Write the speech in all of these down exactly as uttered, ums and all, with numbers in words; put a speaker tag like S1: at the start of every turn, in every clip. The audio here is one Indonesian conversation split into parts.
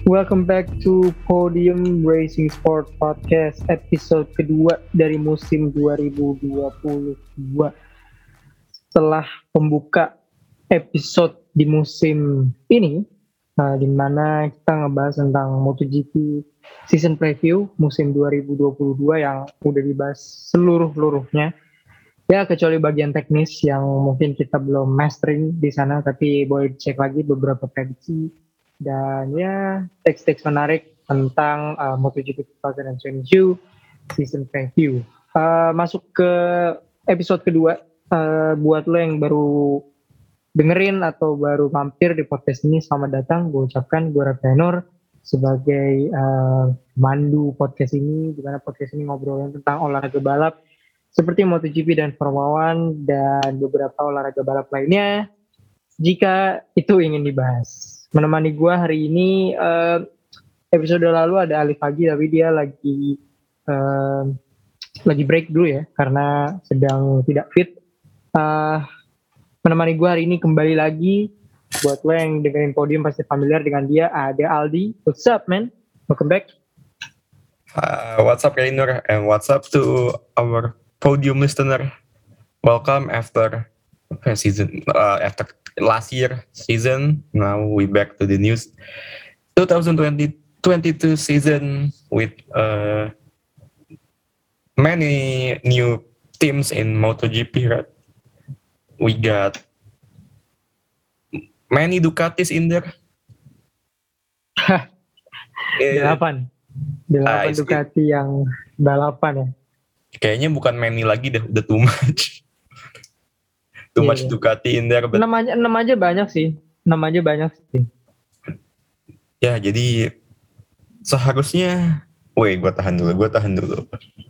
S1: Welcome back to Podium Racing Sport Podcast episode kedua dari musim dua ribu dua puluh dua. Setelah pembuka episode di musim ini, uh, di mana kita ngebahas tentang MotoGP season preview musim dua ribu dua puluh dua yang udah dibahas seluruh-luruhnya. Ya kecuali bagian teknis yang mungkin kita belum mastering di sana, tapi boleh cek lagi beberapa prediksi dan ya teks-teks menarik tentang uh, MotoGP dua ribu dua puluh dua season preview. Uh, masuk ke episode kedua, uh, buat lo yang baru dengerin atau baru mampir di podcast ini, selamat datang. Gue ucapkan gue Ravenor sebagai uh, mandu podcast ini, di mana podcast ini ngobrolin tentang olahraga balap seperti MotoGP dan Formula One dan beberapa olahraga balap lainnya jika itu ingin dibahas. Menemani gue hari ini, uh, episode lalu ada Alif Pagi, tapi dia lagi uh, lagi break dulu ya karena sedang tidak fit. Uh, menemani gue hari ini kembali lagi, buat lo yang dengerin Podium pasti familiar dengan dia, ada Aldi. What's up man? Welcome back.
S2: Uh, what's up Rainer, and what's up to our Podium listener. Welcome after season uh, after last year season. Now we back to the news twenty twenty twenty-two season with uh, many new teams in MotoGP. Right? We got many Ducatis in there.
S1: Delapan, delapan uh, Ducati yang balapan ya.
S2: Kayaknya bukan many lagi deh, udah too much. Too yeah, much yeah. Ducati in there.
S1: But... enam aja, enam aja banyak sih. enam aja banyak sih.
S2: Ya, jadi seharusnya... Wait, gue tahan dulu, gue tahan dulu.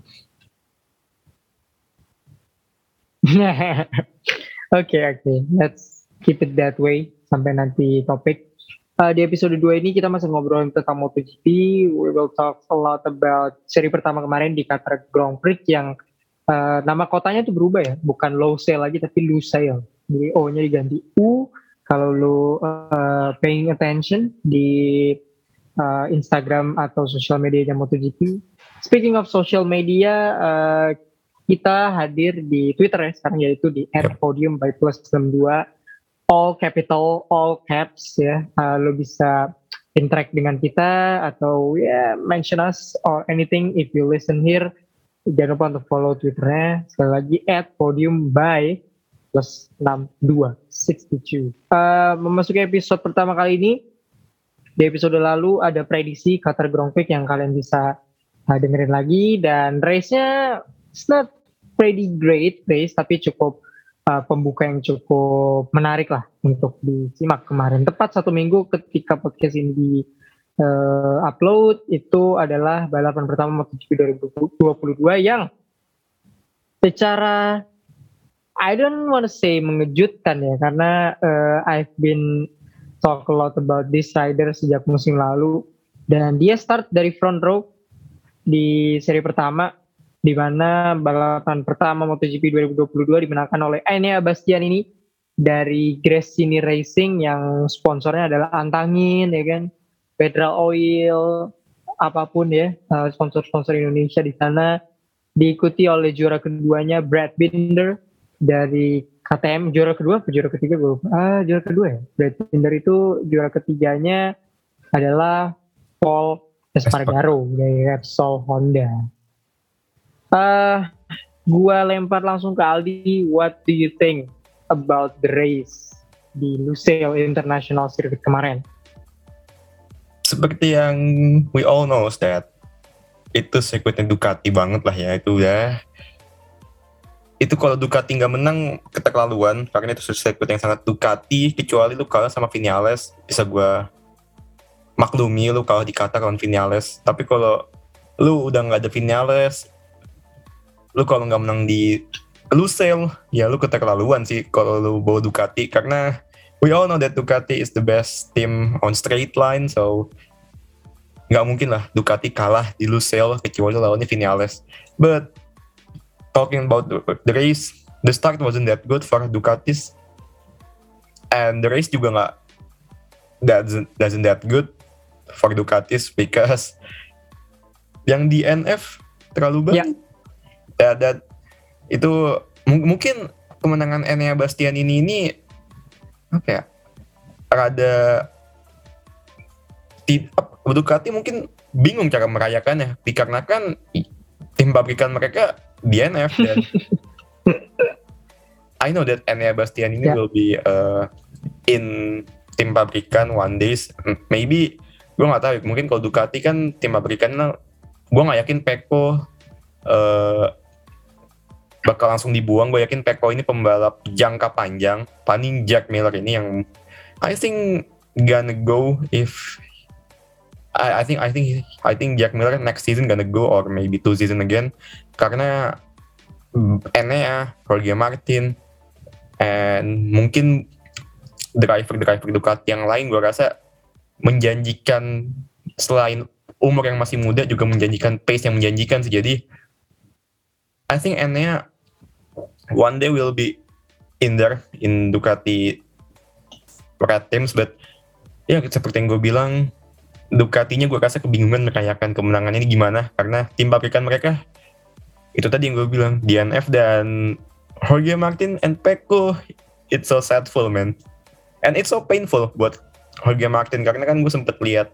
S1: Oke, oke. Okay, okay. Let's keep it that way sampai nanti topik. Uh, di episode dua ini kita masih ngobrolin tentang MotoGP. We will talk a lot about seri pertama kemarin di Qatar Grand Prix yang uh, nama kotanya tuh berubah ya, bukan Losail lagi tapi Lusail. Jadi O-nya diganti U. Kalau lo uh, paying attention di uh, Instagram atau social medianya MotoGP. Speaking of social media, uh, kita hadir di Twitter ya sekarang, yaitu di at podium by plus enam dua. All capital, all caps ya. Uh, lo bisa interact dengan kita atau ya yeah, mention us or anything if you listen here. Jangan lupa untuk follow Twitternya. Sekali lagi at podium by plus enam dua enam dua. Uh, memasuki episode pertama kali ini. Di episode lalu ada prediksi Qatar Grand Prix yang kalian bisa uh, dengerin lagi, dan race-nya it's not pretty great race tapi cukup Uh, pembuka yang cukup menarik lah untuk disimak kemarin. Tepat satu minggu ketika podcast ini di uh, upload, itu adalah balapan pertama MotoGP dua ribu dua puluh dua yang secara I don't want to say mengejutkan ya, karena uh, I've been talk a lot about this rider sejak musim lalu, dan dia start dari front row di seri pertama, di mana balapan pertama MotoGP dua ribu dua puluh dua dimenangkan oleh Enea Bastianini dari Gresini Racing yang sponsornya adalah Antangin ya kan, Federal Oil, apapun ya, sponsor-sponsor Indonesia di sana. Diikuti oleh juara keduanya Brad Binder dari K T M, juara kedua atau juara ketiga gue lupa. Ah, juara kedua ya. Brad Binder itu juara ketiganya adalah Paul Espargaro dari Repsol Honda. Uh, gua lempar langsung ke Aldi. What do you think about the race di Lusail International Circuit kemarin?
S2: Seperti yang we all know that itu sirkuitnya Ducati banget lah ya, itu ya. Itu kalau Ducati nggak menang keterlaluan, karena itu sirkuit yang sangat Ducati. Kecuali lu kalah sama Vinales, bisa gua maklumi lu kalah di Qatar lawan Vinales. Tapi kalau lu udah nggak ada Vinales, lu kalau nggak menang di Lusail, ya lu keterlaluan sih kalau lu bawa Ducati, karena we all know that Ducati is the best team on straight line, so nggak mungkin lah Ducati kalah di Lusail kecuali lawannya Vinales. But talking about the, the race, the start wasn't that good for Ducatis, and the race juga nggak doesn't doesn't that good. for Ducatis because yang D N F terlalu banyak. Ya, yeah. Dan itu m- mungkin kemenangan Enea Bastianini ini apa ya? Rada tidak, Ducati mungkin bingung cara merayakannya dikarenakan tim pabrikan mereka D N F dan I know that Enea Bastianini yeah. will be uh, in tim pabrikan one days, maybe gue nggak tahu. Mungkin kalau Ducati kan tim pabrikan, gue nggak yakin Pecco uh, bakal langsung dibuang. Gue yakin Pecco ini pembalap jangka panjang. Paling Jack Miller ini yang I think gonna go if I, I think I think I think Jack Miller next season gonna go or maybe two season again karena Enea, Jorge Martin, and mungkin driver-driver Ducati yang lain gue rasa menjanjikan, selain umur yang masih muda juga menjanjikan pace yang menjanjikan sih. Jadi I think Enea one day will be in there in Ducati Red Teams, but ya seperti yang gue bilang, Ducatinya gue rasa kebingungan merayakan kemenangan ini gimana karena tim pabrikan mereka itu tadi yang gue bilang D N F dan Jorge Martin and Pecco. It's so sadful, man, and it's so painful buat Jorge Martin karena kan gue sempet lihat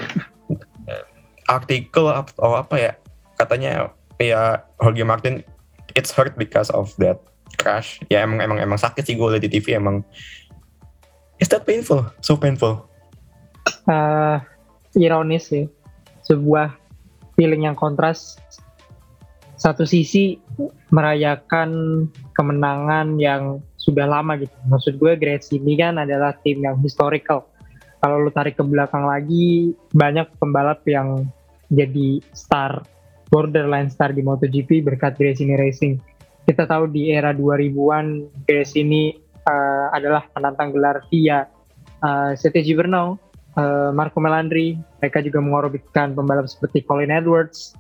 S2: artikel atau apa ya, katanya ya Jorge Martin it's hurt because of that crash. Ya emang emang emang sakit sih, gue liat di T V emang. Is that painful? So painful.
S1: Uh, ironis sih, sebuah feeling yang kontras. Satu sisi merayakan kemenangan yang sudah lama gitu. Maksud gue Grace ini kan adalah tim yang historical. Kalau lu tarik ke belakang lagi, banyak pembalap yang jadi star, borderline star di MotoGP berkat Gresini Racing. Kita tahu di era dua ribuan Gresini uh, adalah penantang gelar via uh, C T Gibernau, uh, Marco Melandri. Mereka juga mengorbitkan pembalap seperti Colin Edwards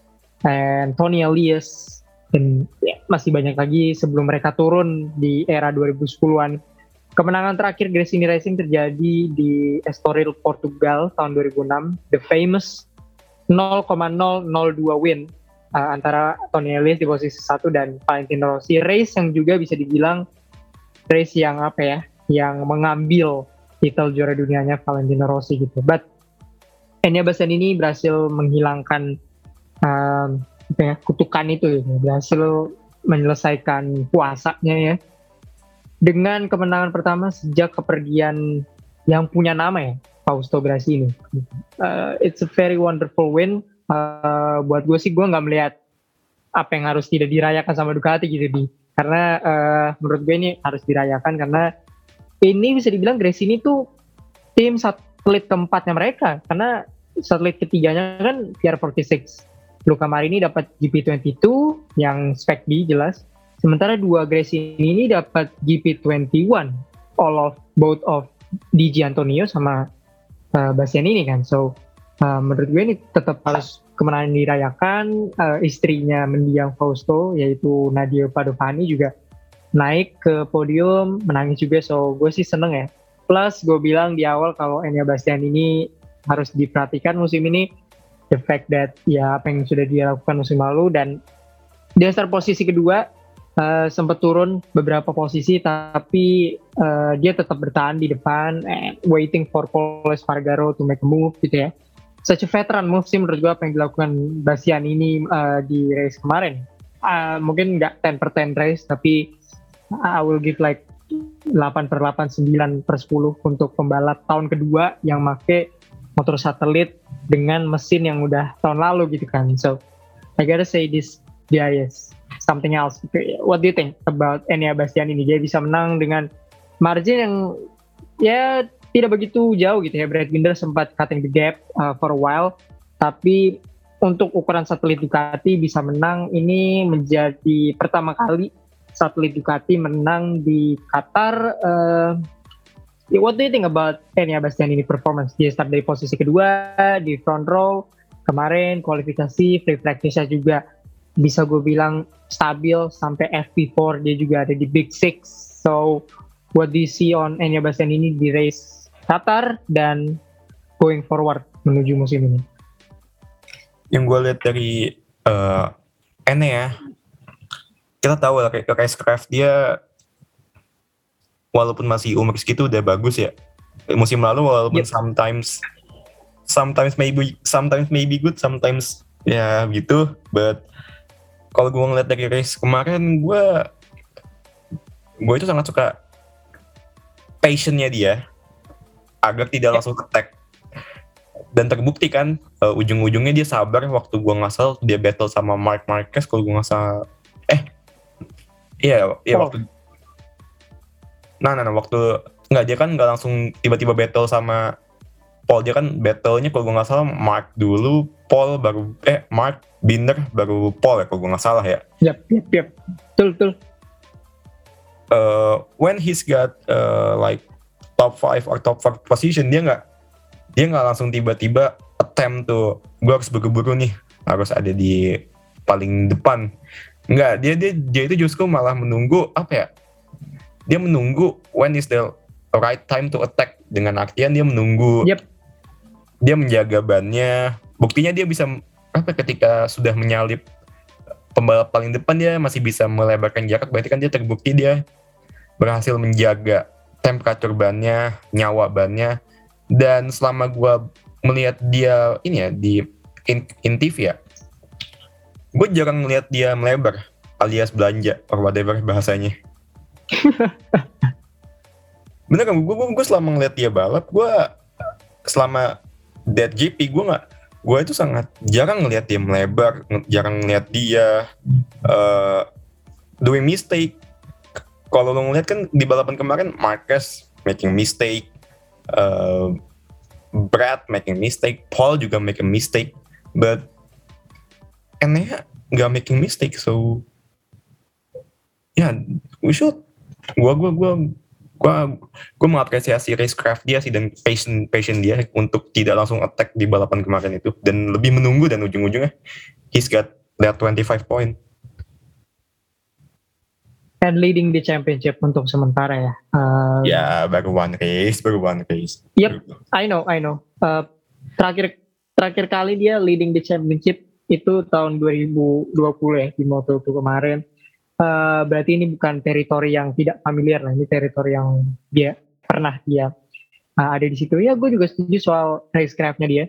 S1: and Tony Elias, dan ya, masih banyak lagi sebelum mereka turun di era dua ribu sepuluhan. Kemenangan terakhir Gresini Racing terjadi di Estoril, Portugal tahun dua ribu enam, the famous nol koma nol nol dua win uh, antara Tony Elias di posisi satu dan Valentino Rossi. Race yang juga bisa dibilang race yang apa ya, yang mengambil titel juara dunianya Valentino Rossi gitu. But Enea Bastianini berhasil menghilangkan Um, ya, kutukan itu, ya, berhasil menyelesaikan puasanya ya dengan kemenangan pertama sejak kepergian yang punya nama ya, Fausto Gresini. Uh, it's a very wonderful win. Uh, buat gue sih, gue nggak melihat apa yang harus tidak dirayakan sama Ducati gitu di, karena uh, menurut gue ini harus dirayakan karena ini bisa dibilang Gresini tuh tim satelit keempatnya mereka, karena satelit ketiganya kan P R empat puluh enam. Luca Marini dapat G P dua puluh dua yang spek B jelas. Sementara dua Gresini ini dapat G P dua puluh satu, all of both of D J Antonio sama uh, Bastianini kan. So uh, menurut gue ini tetap harus kemenangan dirayakan. Uh, istrinya mendiang Fausto yaitu Nadia Padovani juga naik ke podium, menangis juga. So gue sih seneng ya. Plus gue bilang di awal kalau Enea Bastianini harus diperhatikan musim ini, the fact that ya apa yang sudah dia lakukan musim lalu, dan di start posisi kedua uh, sempat turun beberapa posisi tapi uh, dia tetap bertahan di depan and waiting for Pol Espargaro to make a move gitu ya. Such a veteran move sih menurut gue apa yang dilakukan Bastianini uh, di race kemarin. Uh, mungkin nggak ten per ten race tapi I will give like delapan per delapan, sembilan per sepuluh untuk pembalap tahun kedua yang make motor satelit dengan mesin yang udah tahun lalu gitu kan. So I gotta say this guy is something else. What do you think about Enea Bastianini? Dia bisa menang dengan margin yang ya tidak begitu jauh gitu ya. Brad Binder sempat cutting the gap uh, for a while, tapi untuk ukuran satelit Ducati bisa menang ini menjadi pertama kali satelit Ducati menang di Qatar. uh, What do you think about Enea Bastianini performance? Dia start dari posisi kedua di front row kemarin, kualifikasi, free practice juga bisa gue bilang stabil sampai F P empat, dia juga ada di Big Six. So what do you see on Enea Bastianini di race Qatar dan going forward menuju musim ini.
S2: Yang gue lihat dari uh, Ene ya, kita tahu lah racecraft dia walaupun masih umur segitu udah bagus ya. Musim lalu walaupun yep. sometimes sometimes maybe sometimes maybe good, sometimes ya gitu, but kalau gue ngeliat dari race kemarin, gue gue itu sangat suka passionnya dia agar tidak langsung attack. Dan terbukti kan, uh, ujung-ujungnya dia sabar waktu gue nggak salah dia battle sama Marc Marquez kalau gue nggak salah. Eh, iya, iya oh. waktu. Nah, nah, nah, waktu nggak dia kan nggak langsung tiba-tiba battle sama Paul, dia kan battle-nya kalau gue nggak salah Marc dulu, Paul baru eh Marc Binder baru Paul ya kalau gue nggak salah ya.
S1: Yap, yap, yap, betul, betul.
S2: Uh, when he's got uh, like top five or top four position, dia nggak dia nggak langsung tiba-tiba attempt tuh gue harus buru-buru nih harus ada di paling depan. Nggak, dia dia dia itu justru malah menunggu apa ya? Dia menunggu when is the right time to attack, dengan artian dia menunggu.
S1: Yep.
S2: Dia menjaga bannya. Buktinya dia bisa apa ketika sudah menyalip pembalap paling depan dia masih bisa melebarkan jarak, berarti kan dia terbukti dia berhasil menjaga temperatur bannya, nyawa bannya. Dan selama gue melihat dia ini ya di in, in T V ya, gue jarang melihat dia melebar alias belanja or whatever bahasanya. Bener kan, gue gue selama ngeliat dia balap, gue selama Dead G P gue nggak, gue itu sangat jarang ngeliat dia melebar, jarang ngeliat dia uh, doing mistake. Kalau lo ngeliat kan di balapan kemarin Marquez making mistake, uh, Brad making mistake, Paul juga making mistake, but Enea nggak making mistake, so ya yeah, we should. Gua gua gua gua gua mengapresiasi racecraft dia sih dan passion passion dia untuk tidak langsung attack di balapan kemarin itu dan lebih menunggu, dan ujung-ujungnya he's got that twenty-five point.
S1: And leading the championship untuk sementara ya. Uh,
S2: ya baru one race, baru one race.
S1: Yep, I know, I know. Uh, terakhir terakhir kali dia leading the championship itu tahun dua ribu dua puluh ya di Moto dua kemarin. Uh, berarti ini bukan teritori yang tidak familiar lah, ini teritori yang dia pernah dia uh, ada di situ. Ya, gue juga setuju soal racecraftnya dia.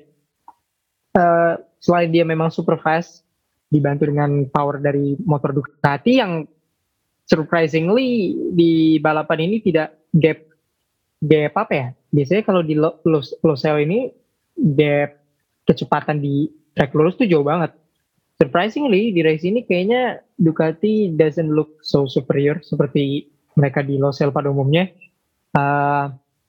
S1: Uh, selain dia memang super fast, dibantu dengan power dari motor Ducati yang surprisingly di balapan ini tidak gap gap apa ya? Biasanya kalau di Losail ini gap kecepatan di track lurus tuh jauh banget. Surprisingly di race ini kayaknya Ducati doesn't look so superior seperti mereka di Losail pada umumnya. Uh,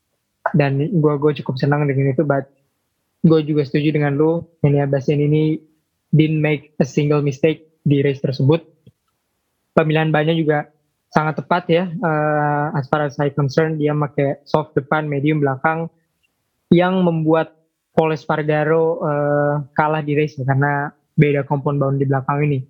S1: dan gue gue cukup senang dengan itu, but gue juga setuju dengan lu, Enea Bastian ini didn't make a single mistake di race tersebut. Pemilihan bannya juga sangat tepat ya, uh, as far as I concern. Dia pakai soft depan, medium belakang, yang membuat Pol Espargaro uh, kalah di race karena beda compound bound di belakang ini.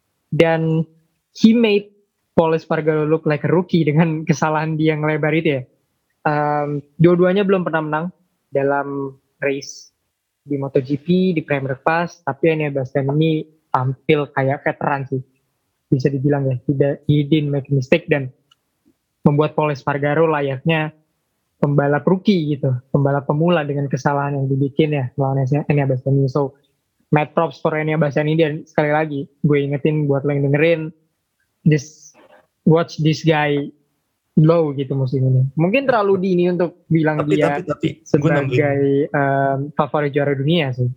S1: Dan he made Pol Espargaro look like a rookie dengan kesalahan dia yang ngelebar itu ya. Um, dua-duanya belum pernah menang dalam race di MotoGP, di Premier Pass, tapi Enea Bastian ini tampil kayak veteran sih, bisa dibilang ya. Tidak, he didn't make a mistake dan membuat Pol Espargaro layaknya pembalap rookie gitu, pembalap pemula dengan kesalahan yang dibikin ya melawan Enea Bastian ini. So, mad props for Enea Bastian ini. Dan sekali lagi gue ingetin buat lo yang dengerin, just watch this guy low gitu musim ini. Mungkin terlalu dini untuk bilang tapi, dia tapi, tapi, sebagai um, favorit juara dunia sih.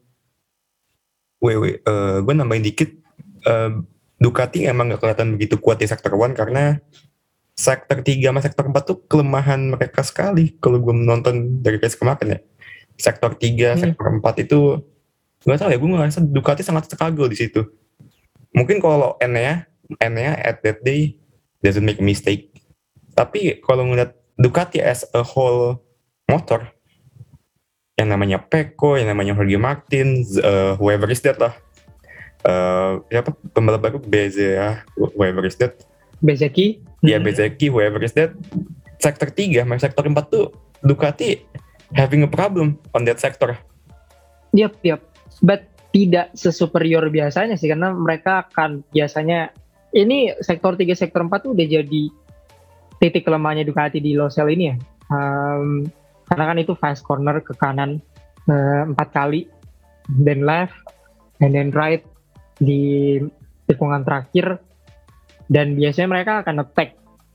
S2: Wait, wait, uh, gue nambahin dikit. Uh, Ducati emang gak kelihatan begitu kuat di sektor satu karena sektor tiga sama sektor empat tuh kelemahan mereka sekali. Kalau gue menonton dari race kemarin ya, sektor tiga, hmm. sektor empat itu gak tahu ya, gue ngerasa Ducati sangat struggle di situ. Mungkin kalau Enea, Enea at that day doesn't make a mistake. Tapi kalau ngeliat Ducati as a whole motor, yang namanya Pecco, yang namanya Jorge Martin, uh, whoever is that lah, uh, siapa pembalap baru, Bezea, whoever is that,
S1: Bezzecchi,
S2: ya yeah, Bezzecchi, whoever is that, sektor tiga, sama sektor empat tuh Ducati having a problem on that sector.
S1: Yap, yap. But tidak sesuperior biasanya sih, karena mereka akan biasanya ini sektor tiga sektor empat tuh udah jadi titik lemahnya Ducati di low cell ini ya. Um, karena kan itu fast corner ke kanan uh, empat kali, then left, and then right di tikungan terakhir, dan biasanya mereka akan attack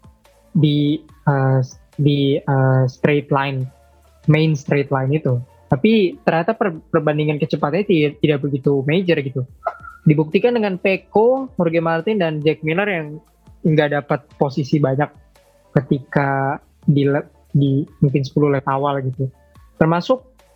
S1: di uh, di uh, straight line, main straight line itu. Tapi ternyata per, perbandingan kecepatannya tidak, tidak begitu major gitu. Dibuktikan dengan Pecco, Jorge Martin, dan Jack Miller yang nggak dapat posisi banyak ketika di, di mungkin sepuluh lap awal gitu. Termasuk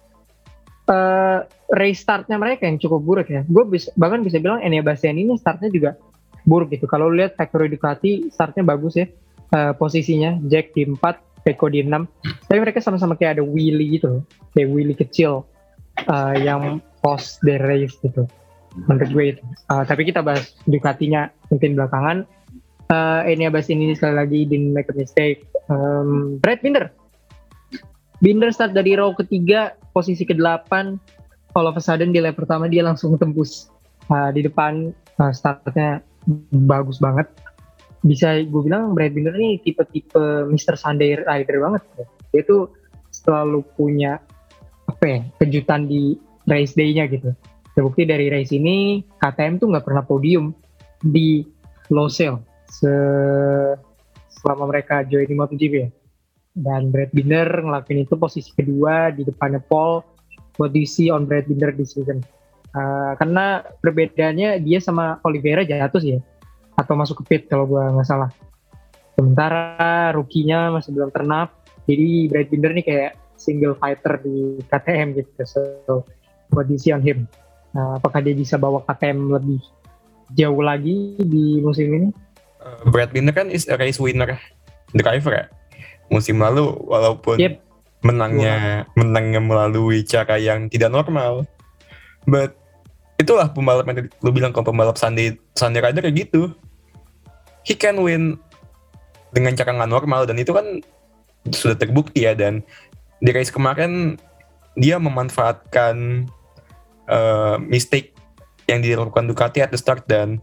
S1: uh, race startnya mereka yang cukup buruk ya. Gue bisa, bahkan bisa bilang Enea Bastianini ini startnya juga buruk gitu. Kalau lihat Factory Ducati startnya bagus ya, uh, posisinya Jack di empat, Pecco di enam, tapi mereka sama-sama kayak ada wheelie gitu, kayak wheelie kecil uh, yang post the race gitu, menurut gue itu. Uh, tapi kita bahas Ducatinya mungkin belakangan. Uh, Enea Bastianini sekali lagi didn't make a mistake. Um, Brad Binder, Binder start dari row ketiga, posisi kedelapan. All of a sudden di lap pertama dia langsung tembus uh, di depan. Uh, startnya bagus banget. Bisa gue bilang Brad Binder ini tipe-tipe mister Sunday Rider banget. Dia tuh selalu punya apa ya, kejutan di race day-nya gitu. Terbukti dari race ini K T M tuh nggak pernah podium di low cell se- selama mereka join di MotoGP ya. Dan Brad Binder ngelakuin itu posisi kedua di depannya Paul. What do you see on Brad Binder this season? Uh, karena perbedaannya dia sama Oliveira jatuh sih ya, atau masuk ke pit kalau gue nggak salah. Sementara rookie-nya masih belum turn up, jadi Brad Binder nih kayak single fighter di K T M gitu. So, what do you see on him? Nah, apakah dia bisa bawa K T M lebih jauh lagi di musim ini?
S2: Uh, Brad Binder kan is a race winner driver ya. Musim lalu walaupun yep. menangnya wow. menangnya melalui cara yang tidak normal, but itulah pembalap yang lu bilang, kalau pembalap Sunday Sunday Rider kayak gitu, he can win dengan cara nggak normal, dan itu kan sudah terbukti ya. Dan di race kemarin dia memanfaatkan uh, mistake yang dilakukan Ducati at the start, dan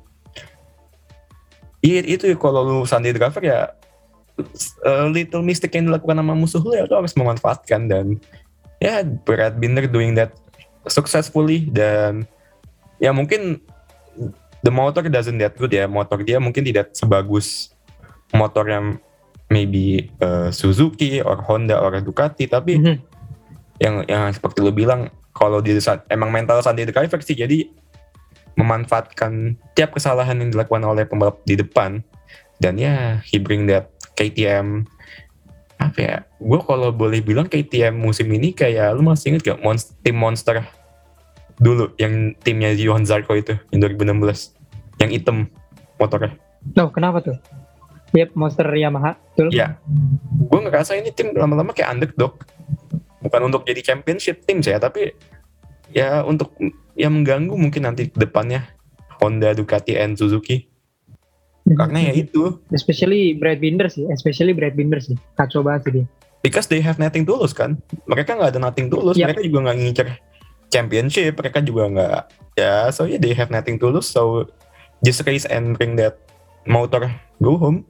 S2: iya itu kalau lu Sunday driver ya, uh, little mistake yang dilakukan sama musuh lu ya lu harus memanfaatkan. Dan ya Brad Binder doing that successfully, dan ya mungkin the motor doesn't that good ya, motor dia mungkin tidak sebagus motor yang maybe uh, Suzuki or Honda or Ducati, tapi mm-hmm. yang yang seperti lo bilang, kalau dia emang mental Sunday driver sih, jadi memanfaatkan tiap kesalahan yang dilakukan oleh pembalap di depan, dan ya he bring that K T M. Apa ya, gue kalau boleh bilang K T M musim ini kayak, lu masih inget gak Monst- tim Monster dulu yang timnya Johan Zarco itu yang dua ribu enam belas yang hitam motornya?
S1: No, kenapa tuh? Yep, Monster Yamaha, betul.
S2: Iya, gue ngerasa ini tim lama-lama kayak underdog, bukan untuk jadi championship tim saya, tapi ya untuk ya mengganggu mungkin nanti depannya Honda, Ducati, and Suzuki. Karena ya itu,
S1: especially Brad Binder sih, especially Brad Binder sih, kacau banget sih dia.
S2: Because they have nothing to lose kan, mereka nggak ada nothing to lose, yep. Mereka juga nggak ngincer championship, mereka juga nggak, ya so yeah, they have nothing to lose, so just race and bring that motor go home.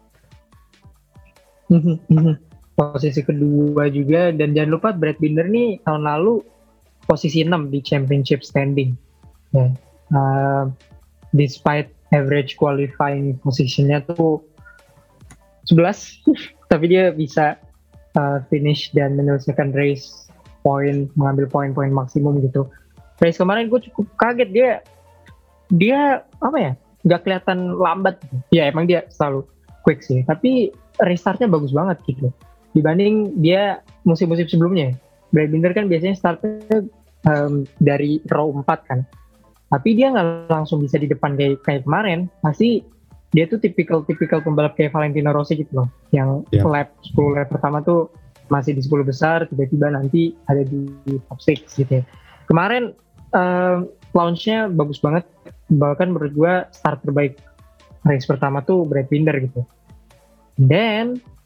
S1: Posisi kedua juga, dan jangan lupa Brad Binder nih tahun lalu posisi enam di championship standing, yeah. uh, despite average qualifying positionnya tuh sebelas tapi dia bisa uh, finish dan menyelesaikan race poin, mengambil poin-poin maksimum gitu. Race kemarin gue cukup kaget, dia dia apa ya, nggak kelihatan lambat gitu. Ya emang dia selalu quick sih, tapi restartnya bagus banget gitu dibanding dia musim-musim sebelumnya. Brad Binder kan biasanya startnya um, dari row empat kan, tapi dia nggak langsung bisa di depan kayak, kayak kemarin. Pasti dia tuh tipikal-tipikal pembalap kayak Valentino Rossi gitu loh, yang yeah. lap sepuluh lap pertama tuh masih di sepuluh besar, tiba-tiba nanti ada di top enam gitu ya. Kemarin uh, launch-nya bagus banget, bahkan menurut gue start terbaik race pertama tuh Brad Binder gitu. Dan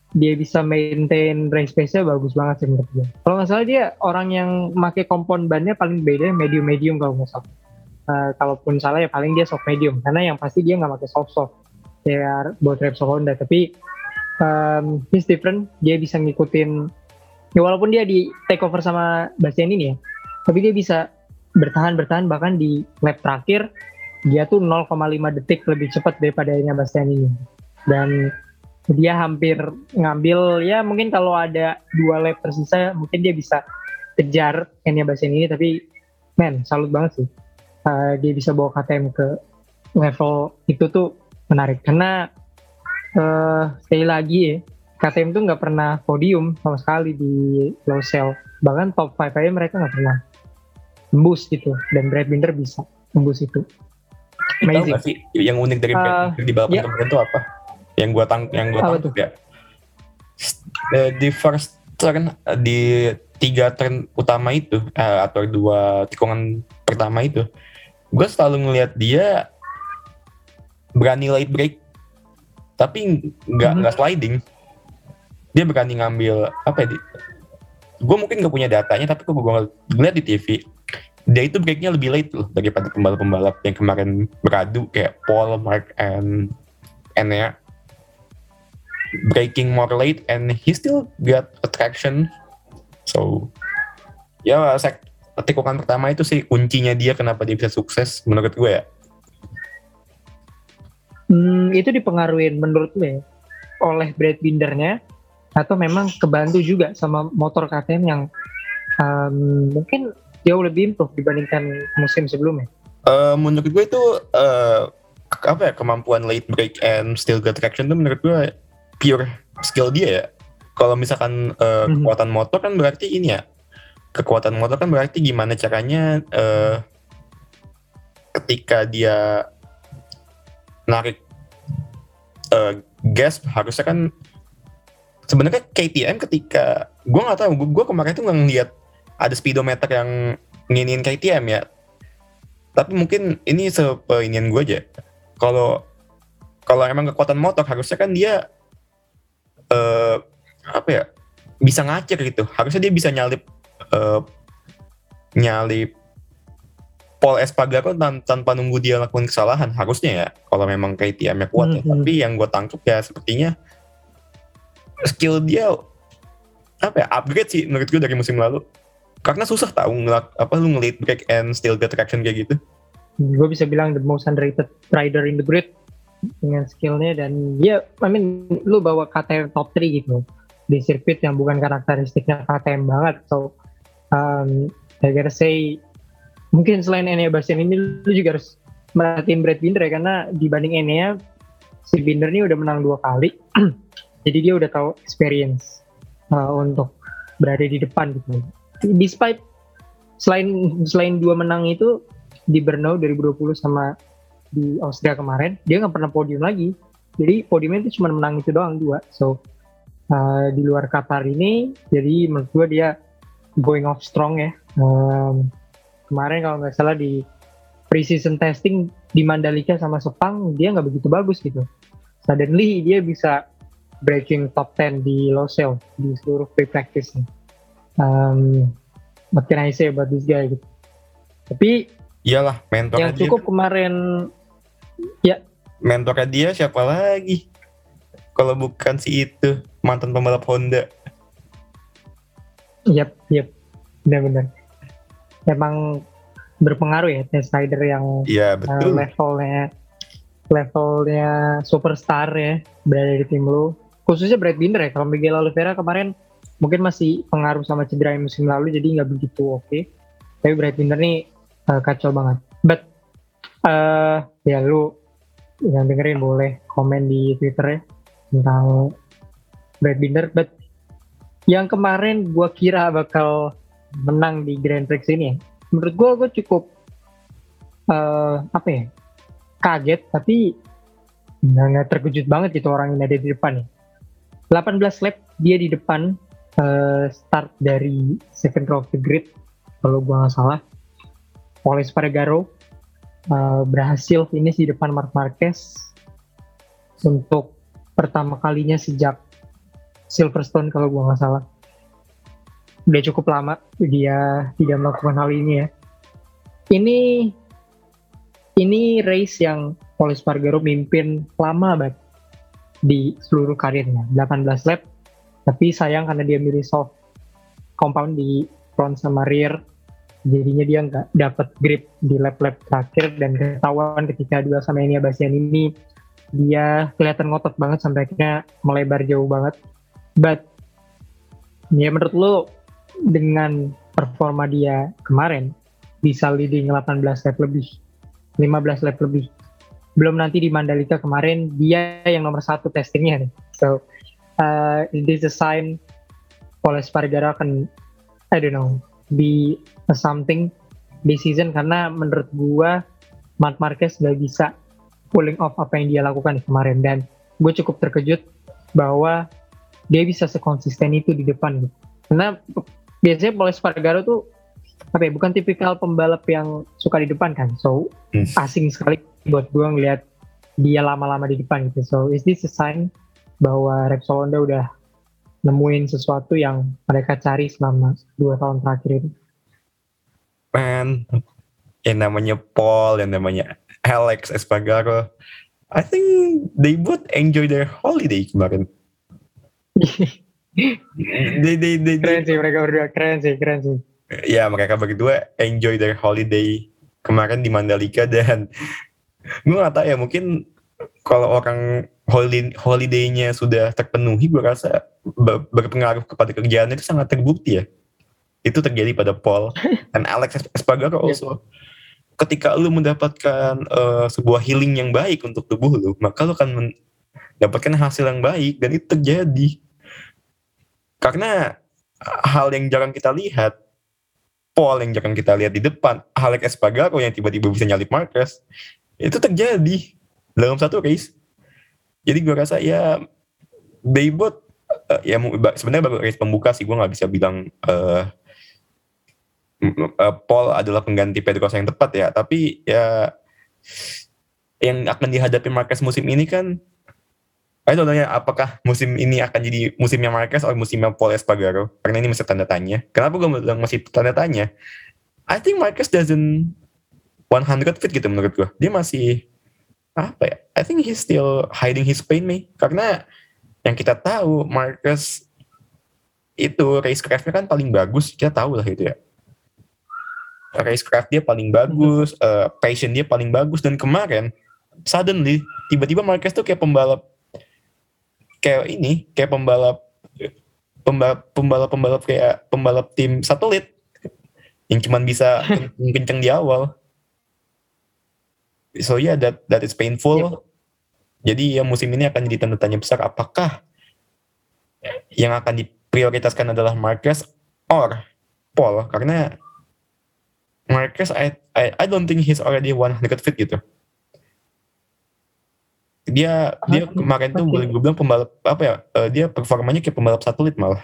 S1: dia bisa maintain race pace-nya bagus banget sih menurut gue. Kalau nggak salah dia orang yang pakai kompon bannya paling beda medium-medium kalau nggak salah. Uh, kalaupun salah ya paling dia soft medium, karena yang pasti dia nggak pakai soft soft kayak buat Repsol Honda. Tapi um, he's different, dia bisa ngikutin ya, walaupun dia di take over sama Bastian ini ya, tapi dia bisa bertahan bertahan bahkan di lap terakhir dia tuh nol koma lima detik lebih cepat daripada Bastian ini. Dan dia hampir ngambil ya, mungkin kalau ada dua lap tersisa mungkin dia bisa kejar Enya Bastian ini. Tapi men, salut banget sih, uh, dia bisa bawa K T M ke level itu tuh menarik. Karena uh, sekali lagi ya, K T M tuh nggak pernah podium sama sekali di Losail, bahkan top lima aja mereka nggak pernah tembus gitu, dan Brad Binder bisa tembus itu.
S2: Amazing. Tahu gak sih yang unik dari Brad Binder uh, di balapan yeah. kemarin itu apa? Yang gua tang yang gua tangkap ya, di first turn, di tiga turn utama itu uh, atau dua tikungan pertama itu, gue selalu ngelihat dia berani late break, tapi nggak nggak hmm. sliding. Dia berani ngambil apa ya? Gue mungkin nggak punya datanya, tapi gue ngeliat di T V, dia itu breaknya lebih late loh daripada pembalap-pembalap yang kemarin beradu kayak Paul, Mark, and Enea. Breaking more late and he still got attraction. So ya sek tikungan pertama itu sih kuncinya dia kenapa dia bisa sukses menurut gue ya.
S1: Hmm, itu dipengaruhi menurut gue oleh Brad Bindernya atau memang kebantu juga sama motor K T M yang um, mungkin jauh lebih improve dibandingkan musim sebelumnya.
S2: Uh, menurut gue itu uh, apa ya, kemampuan late break and still get traction itu menurut gue pure skill dia ya. Kalau misalkan uh, mm-hmm. kekuatan motor kan berarti ini ya, kekuatan motor kan berarti gimana caranya uh, ketika dia narik uh, gas harusnya kan sebenarnya K T M ketika gue nggak tahu, gue kemarin tuh nggak ngeliat ada speedometer yang nginin K T M ya, tapi mungkin ini sepeinian gue aja. Kalau kalau emang kekuatan motor harusnya kan dia Uh, apa ya, bisa ngacir gitu. Harusnya dia bisa nyalip uh, nyalip Paul Espargaro tan- tanpa nunggu dia lakukan kesalahan harusnya ya, kalau memang K T M-nya kuat ya. Mm-hmm. Tapi yang gue tangkap ya sepertinya skill dia apa ya, upgrade sih menurut gue dari musim lalu. Karena susah tahu ngelak apa lu nge-lead break and still get traction kayak gitu.
S1: Gue bisa bilang the most underrated rider in the grid dengan skillnya. Dan dia, I mean, lu bawa K T M top tiga gitu di sirkuit yang bukan karakteristiknya K T M banget. So um, I gotta say, mungkin selain Enea Bastian ini lu juga harus merhatiin Brad Binder ya, karena dibanding Enea, si Binder ini udah menang dua kali jadi dia udah tahu experience uh, untuk berada di depan gitu. Despite selain selain dua menang itu di Brno dua ribu dua puluh sama di Austria kemarin, dia nggak pernah podium lagi. Jadi podiumnya itu cuma menang itu doang, dua. So uh, di luar Qatar ini, jadi menurut gue dia going off strong ya. Um, kemarin kalau nggak salah di pre-season testing di Mandalika sama Sepang, dia nggak begitu bagus gitu. Suddenly dia bisa breaking top sepuluh di Losail di seluruh pre-practice. Um, what can I say about this guy gitu. Tapi
S2: iyalah mentornya
S1: yang cukup dia. Kemarin ya,
S2: mentornya dia siapa lagi kalau bukan si itu mantan pembalap Honda.
S1: Yap, yap, benar-benar. Emang berpengaruh ya test rider yang
S2: ya, betul.
S1: Uh, levelnya levelnya superstar ya berada di tim lu. Khususnya Brad Binder ya. Kalau Miguel Oliveira kemarin mungkin masih pengaruh sama cedera musim lalu, jadi nggak begitu oke. Okay. Tapi Brad Binder nih uh, kacau banget. But uh, ya lu yang dengerin boleh komen di Twitter ya tentang Brad Binder. But yang kemarin gue kira bakal menang di Grand Prix ini, menurut gue gue cukup uh, apa ya, kaget tapi nggak terkejut banget gitu orang yang ada di depan nih. delapan belas lap dia di depan, uh, start dari second row of the grid kalau gue nggak salah. Paul Espargaro uh, berhasil finish di depan Marc Marquez untuk pertama kalinya sejak Silverstone kalau gue nggak salah. Udah cukup lama dia tidak melakukan hal ini ya. Ini ini race yang Pol Espargaro mimpin lama banget di seluruh karirnya, delapan belas lap. Tapi sayang karena dia milih soft compound di front sama rear, jadinya dia nggak dapat grip di lap-lap terakhir dan ketahuan ketika dua sama Enea Bastian ini dia kelihatan ngotot banget sampai akhirnya melebar jauh banget. But ya menurut lo dengan performa dia kemarin bisa leading delapan belas lap lebih, lima belas lap lebih, belum nanti di Mandalika kemarin dia yang nomor satu testingnya nih. So uh, is this a sign Pol Espargaro akan I don't know be a something this season, karena menurut gua Marc Marquez gak bisa pulling off apa yang dia lakukan kemarin, dan gue cukup terkejut bahwa dia bisa sekonsisten itu di depan gitu. Karena biasanya Pol Espargaro tuh apa ya, bukan tipikal pembalap yang suka di depan kan, so hmm. asing sekali buat gue ngeliat dia lama-lama di depan gitu. So is this a sign bahwa Repsol Honda udah nemuin sesuatu yang mereka cari selama dua tahun terakhir ini?
S2: Man, yang namanya Paul, yang namanya Alex Espargaro, I think they both enjoy their holiday kemarin. they, they, they,
S1: keren sih mereka berdua, keren sih, keren sih.
S2: Ya mereka berdua enjoy their holiday kemarin di Mandalika, dan gue gak tahu ya, mungkin kalau orang holiday, holiday-nya sudah terpenuhi, gue rasa ber, berpengaruh kepada kerjaannya itu sangat terbukti ya. Itu terjadi pada Paul dan Alex Espargaro also. Ketika lu mendapatkan uh, sebuah healing yang baik untuk tubuh lu, maka lu akan mendapatkan hasil yang baik, dan itu terjadi. Karena hal yang jarang kita lihat, Paul yang jarang kita lihat di depan, Alex Espargaro yang tiba-tiba bisa nyalip Marquez, itu terjadi dalam satu race. Jadi gue rasa ya they both uh, ya sebenarnya baru race pembuka sih, gue nggak bisa bilang uh, uh, Paul adalah pengganti Pedrosa yang tepat ya, tapi ya yang akan dihadapi Marquez musim ini kan, I don't know ya, apakah musim ini akan jadi musimnya Marquez atau musimnya Pol Espargaro, karena ini masih tanda tanya. Kenapa gue bilang masih tanda tanya? I think Marquez doesn't one hundred fit gitu menurut gue. Dia masih apa ya? I think he's still hiding his pain nih. Karena yang kita tahu Marquez itu racecraft-nya kan paling bagus, kita tahu lah itu ya. Racecraft dia paling bagus, uh, passion dia paling bagus, dan kemarin suddenly tiba-tiba Marquez tuh kayak pembalap kayak ini, kayak pembalap pembalap pembalap pembalap kayak pembalap tim satelit yang cuman bisa kenceng di awal. So yeah, that that is painful. Yep. Jadi ya musim ini akan jadi tanda tanya besar, apakah yang akan diprioritaskan adalah Marquez or Paul, karena Marquez I I I don't think he's already one hundred fit gitu. Dia dia kemarin tuh boleh gue bilang pembalap apa ya, uh, dia performanya kayak pembalap satelit malah.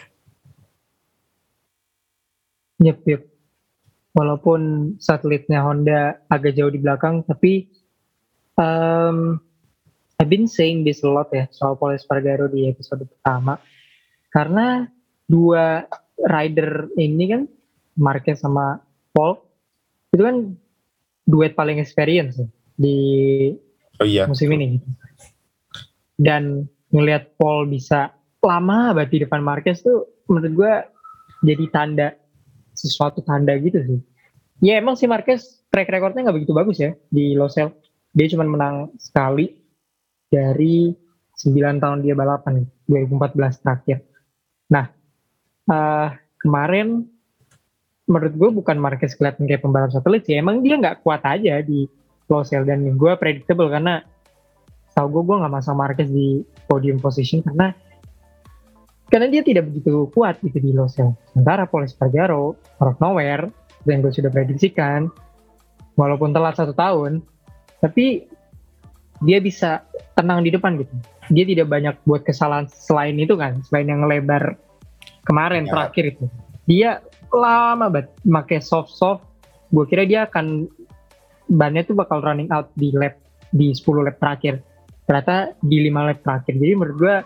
S1: Yep, yep. Walaupun satelitnya Honda agak jauh di belakang, tapi um, I've been saying this a lot ya soal Pol Espargaro di episode pertama, karena dua rider ini kan, Marquez sama Paul, itu kan duet paling experience ya, di
S2: oh, iya.
S1: musim ini. Dan ngelihat Paul bisa lama banget di depan Marquez tuh menurut gue jadi tanda, sesuatu tanda gitu sih. Ya emang si Marquez track recordnya gak begitu bagus ya di Losail. Dia cuma menang sekali dari sembilan tahun dia balapan, dua ribu empat belas terakhir. Nah uh, kemarin menurut gue bukan Marquez kelihatan kayak pembalap satelit sih, emang dia gak kuat aja di Losail, dan gue predictable karena tau gue gue nggak masang Marquez di podium position karena karena dia tidak begitu kuat gitu di Losail. Sementara Pol Espargaro out of nowhere, yang gue sudah prediksikan, walaupun telat satu tahun, tapi dia bisa tenang di depan gitu. Dia tidak banyak buat kesalahan selain itu kan, selain yang lebar kemarin ya. Terakhir itu dia lama banget pakai soft soft. Gue kira dia akan bannya tuh bakal running out di lap di sepuluh lap terakhir. Ternyata di lima lap terakhir. Jadi menurut gue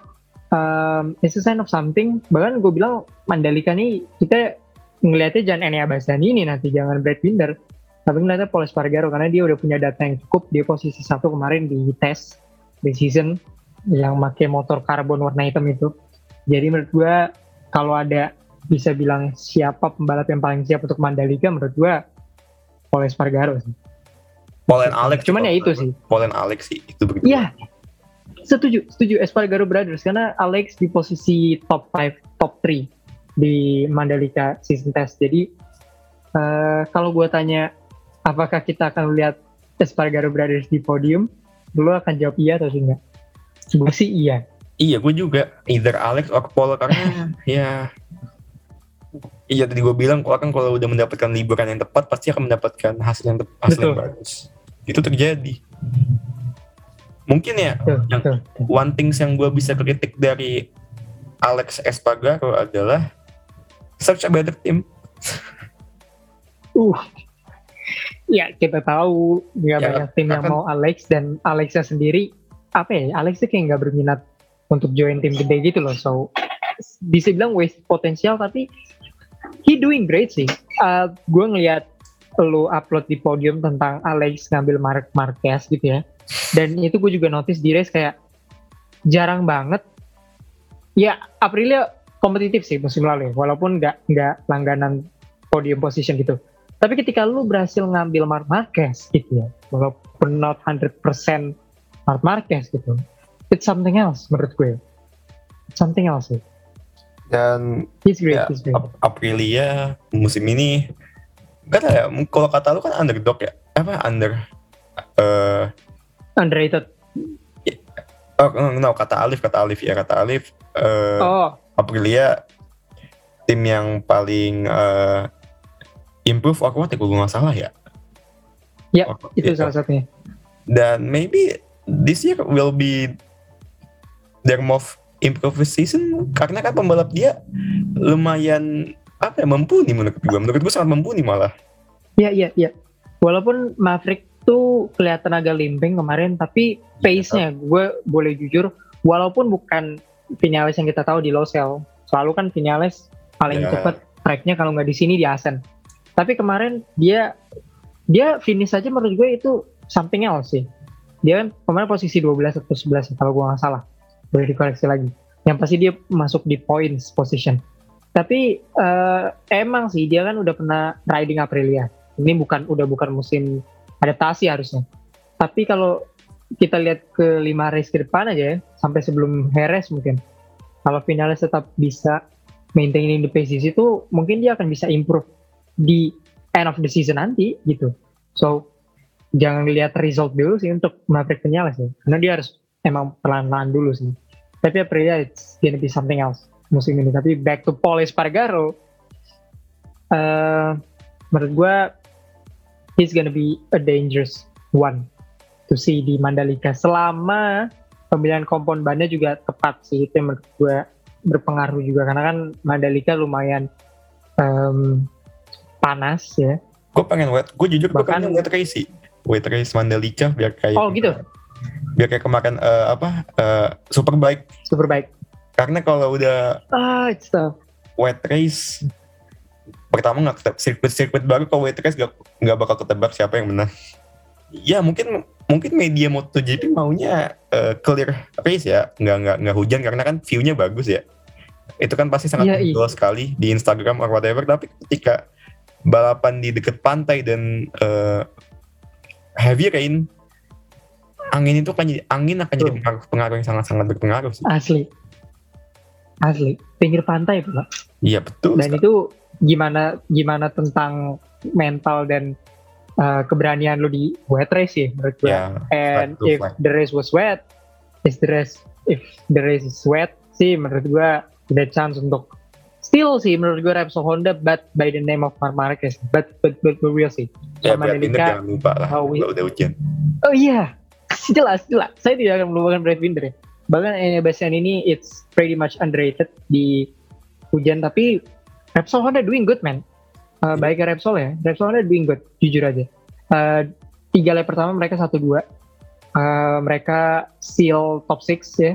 S1: um, it's a sign of something. Bahkan gue bilang Mandalika nih kita ngelihatnya jangan Enea Bastianini ini nanti, jangan Brad Binder, tapi ngeliatnya Pol Espargaro karena dia udah punya data yang cukup. Dia posisi satu kemarin di tes di season yang pakai motor karbon warna hitam itu. Jadi menurut gue kalau ada bisa bilang siapa pembalap yang paling siap untuk Mandalika, menurut gue Pol Espargaro sih.
S2: Paul and Alex.
S1: Cuman ya itu sih.
S2: Paul and Alex sih itu begitu.
S1: Iya. Setuju, setuju Espargaro Brothers karena Alex di posisi top lima, top tiga di Mandalika season test. Jadi uh, kalau gue tanya apakah kita akan lihat Espargaro Brothers di podium, lu akan jawab iya atau enggak? Gue sih iya.
S2: Iya, gue juga either Alex atau Paul karena ya iya tadi gue bilang kalau kan kalau udah mendapatkan liburan yang tepat pasti akan mendapatkan hasil yang tepat, hasil yang bagus. Itu terjadi. Mungkin ya
S1: betul,
S2: yang
S1: betul, betul.
S2: one things yang gue bisa kritik dari Alex Espargaro adalah search a better team.
S1: Uh, ya kita tahu nggak
S2: Ya,
S1: banyak tim yang
S2: akan-
S1: mau Alex, dan Alexnya sendiri apa ya? Alex tuh kayak nggak berminat untuk join tim gede gitu loh. So bisa bilang waste potensial, tapi he doing great sih. Uh, gue ngelihat lu upload di podium tentang Alex ngambil Marc Marquez gitu ya. Dan itu gue juga notice di race kayak jarang banget. Ya Aprilia kompetitif sih musim lalu ya, walaupun nggak nggak langganan podium position gitu. Tapi ketika lu berhasil ngambil Marc Marquez gitu ya, walaupun not one hundred percent Marc Marquez gitu, it's something else menurut gue. It's something else sih.
S2: Dan
S1: He's great,
S2: ya,
S1: he's great.
S2: Ap- Aprilia musim ini gak tau ya, kalau kata lu kan underdog ya, apa under eh
S1: Underrated.
S2: oh no, kata Alif kata Alif ya kata Alif eh,
S1: Oh,
S2: Aprilia tim yang paling eh, improve or what ya kalau gue nggak salah ya.
S1: ya
S2: Oh,
S1: itu
S2: iya.
S1: salah satunya.
S2: Dan maybe this year will be their most improved season karena kan pembalap dia lumayan apa ya, mumpuni menurut gue. Menurut gue sangat mumpuni malah.
S1: Iya, iya, iya. Walaupun Maverick tuh kelihatan agak limping kemarin, tapi pace-nya gue boleh jujur, walaupun bukan Vinales yang kita tahu di Losail, selalu kan Vinales paling
S2: Ya.
S1: cepat tracknya kalau nggak di sini di Asen. Tapi kemarin dia dia finish aja menurut gue itu something else sih. Dia kan kemarin posisi dua belas atau sebelas kalau gue nggak salah, boleh dikoreksi lagi. Yang pasti dia masuk di points position. Tapi eh, emang sih dia kan udah pernah riding Aprilia. Ini bukan udah bukan musim adaptasi harusnya. Tapi kalau kita lihat ke lima race ke depan aja ya, sampai sebelum Jerez mungkin. Kalau Vinales tetap bisa maintaining the pace itu, mungkin dia akan bisa improve di end of the season nanti gitu. So jangan lihat result dulu sih untuk Maverick Vinales ya. Karena dia harus emang pelan-pelan dulu sih. Tapi Aprilia it's gonna be something else musim ini. Tapi back to Pol Espargaro, uh, menurut gue he's gonna be a dangerous one to see di Mandalika selama pemilihan kompon bannya juga tepat sih. Itu yang menurut gue berpengaruh juga karena kan Mandalika lumayan um, panas ya.
S2: Gue pengen wet, gue jujur gue
S1: Bahkan-
S2: pengen wet race sih, wet race Mandalika biar kayak
S1: Oh gitu,
S2: biar kayak kemarin eh, apa eh, Superbike.
S1: super baik.
S2: Karena kalau udah
S1: Ah, it's tough.
S2: wet race pertama nggak ketebak, sirkuit-sirkuit baru kalau wet race nggak nggak bakal ketebak siapa yang menang. Ya mungkin mungkin media MotoGP maunya eh, clear race ya, nggak nggak nggak hujan karena kan view-nya bagus ya. Itu kan pasti sangat
S1: Iya, iya.
S2: visual sekali di Instagram or whatever. Tapi ketika balapan di dekat pantai dan eh, heavy rain, angin itu kan jadi angin akan jadi
S1: Betul.
S2: pengaruh, pengaruh yang sangat-sangat berpengaruh sih.
S1: Asli, asli. Pinggir pantai Pak.
S2: Iya betul.
S1: Dan itu gimana gimana tentang mental dan uh, keberanian lu di wet race sih menurut gue.
S2: Ya,
S1: And
S2: flat to
S1: if
S2: flat.
S1: the race was wet, is the race if the race is wet sih menurut gue ada chance untuk still sih menurut gue Repsol Honda, but by the name of Marc Marquez. But but but we will see.
S2: Ya
S1: Sama
S2: Brad Binder
S1: Mandalika-
S2: jangan lupa lah
S1: how we-
S2: kalau udah hujan.
S1: Oh iya, jelas jelas. Saya tidak akan melupakan Brad Binder ya. Bahkan Enea Bastianini ini it's pretty much underrated di hujan, tapi Repsol Honda doing good man. Uh,
S2: Iya.
S1: baiknya Repsol ya, Repsol Honda doing good, jujur aja. Uh, tiga lap pertama mereka satu dua, uh, mereka seal top enam ya.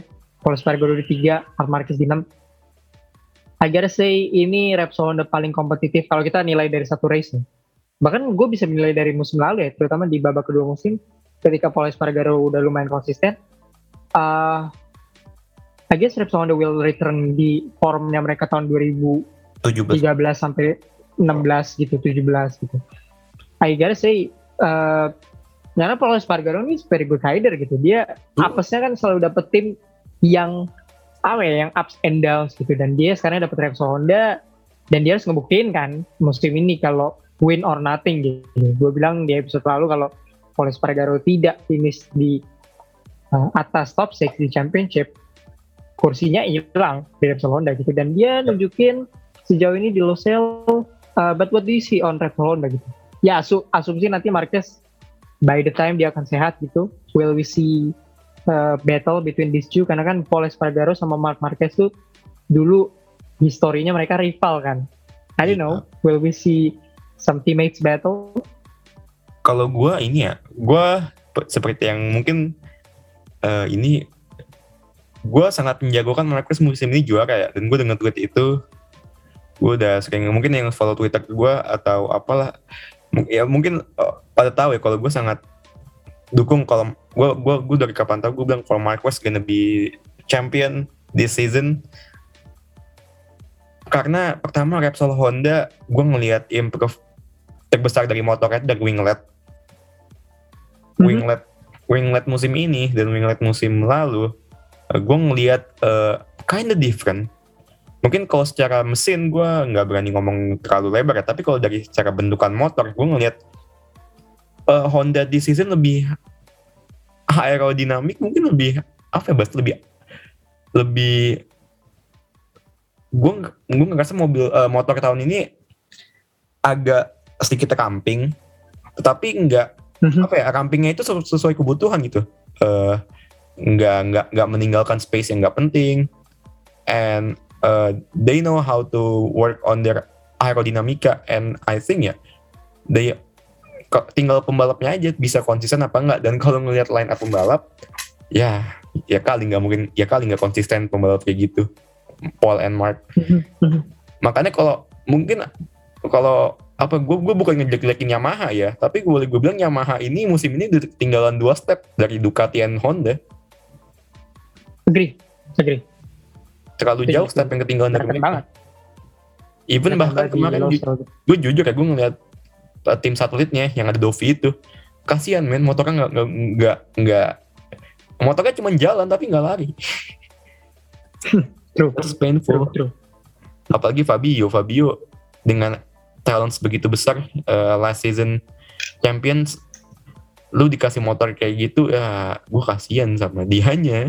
S1: Paul Espargaro di tiga, Marc Marquez di enam. I gotta say ini Repsol Honda paling kompetitif kalau kita nilai dari satu race nih. Bahkan gue bisa menilai dari musim lalu ya, terutama di babak kedua musim ketika Paul Espargaro udah lumayan konsisten. Uh, I guess Repsol Honda will return di formnya mereka tahun dua ribu tiga belas sampai enam belas gitu, tujuh belas gitu. I gotta say uh, karena Paul Espargaro ini very good rider gitu. Dia hmm. apesnya kan selalu dapet tim yang apa ya, yang ups and downs gitu, dan dia sekarang dapat Repsol Honda dan dia harus ngebuktiin kan musim ini kalau win or nothing gitu. Gue bilang di episode lalu kalau Paul Espargaro tidak finish di uh, atas top enam di championship, kursinya hilang di Repsol Honda gitu, dan dia nunjukin sejauh ini di Losail. Uh, but what do you see on Repsol Honda gitu? Ya asu- asumsi nanti Marquez by the time dia akan sehat gitu, will we see Uh, battle between these two, karena kan Paul Espargaro sama Marc Marquez tuh dulu historinya mereka rival kan. I don't know, will we see some teammates battle?
S2: Kalau gue ini ya, gue seperti yang mungkin uh, ini gue sangat menjagokan Marquez musim ini juara ya, dan gue dengan tweet itu gue udah sering, mungkin yang follow Twitter gue atau apalah ya mungkin uh, pada tahu ya kalau gue sangat dukung, kalau gue gue gue dari kapan tahu gue bilang kalau Marquez gonna be champion this season, karena pertama Repsol Honda gue ngelihat improve terbesar dari motornya dari winglet mm-hmm. winglet winglet musim ini dan winglet musim lalu, uh, gue ngelihat uh, kinda different. Mungkin kalau secara mesin gue nggak berani ngomong terlalu lebar ya, tapi kalau dari secara bentukan motor gue ngelihat uh, Honda di season lebih aerodinamik, mungkin lebih apa ya, Bas, lebih lebih gue gue ngerasa mobil uh, motor tahun ini agak sedikit ramping, tetapi enggak mm-hmm. apa ya, rampingnya itu sesuai kebutuhan gitu, uh, nggak nggak nggak meninggalkan space yang nggak penting, and uh, they know how to work on their aerodinamika, and I think ya they tinggal pembalapnya aja bisa konsisten apa enggak. Dan kalau ngelihat line up pembalap ya ya kali nggak mungkin ya kali nggak konsisten pembalap kayak gitu, Paul and Mark. Makanya kalau mungkin kalau apa gue gue bukan ngejelek-jelekin Yamaha ya, tapi gue boleh gue bilang Yamaha ini musim ini ketinggalan dua step dari Ducati and Honda.
S1: Agree, agree.
S2: Terlalu agree, jauh agree. Step yang ketinggalan dari mereka. Even bahkan kemarin ju- gue jujur ya, gue ngeliat tim satelitnya yang ada Dovi itu, kasihan men, motornya nggak nggak nggak motornya cuma jalan tapi nggak lari.
S1: True.
S2: That's painful.
S1: True, true.
S2: Apalagi Fabio, Fabio dengan talent sebegitu besar, uh, last season champions, lu dikasih motor kayak gitu ya, gue kasihan sama dianya.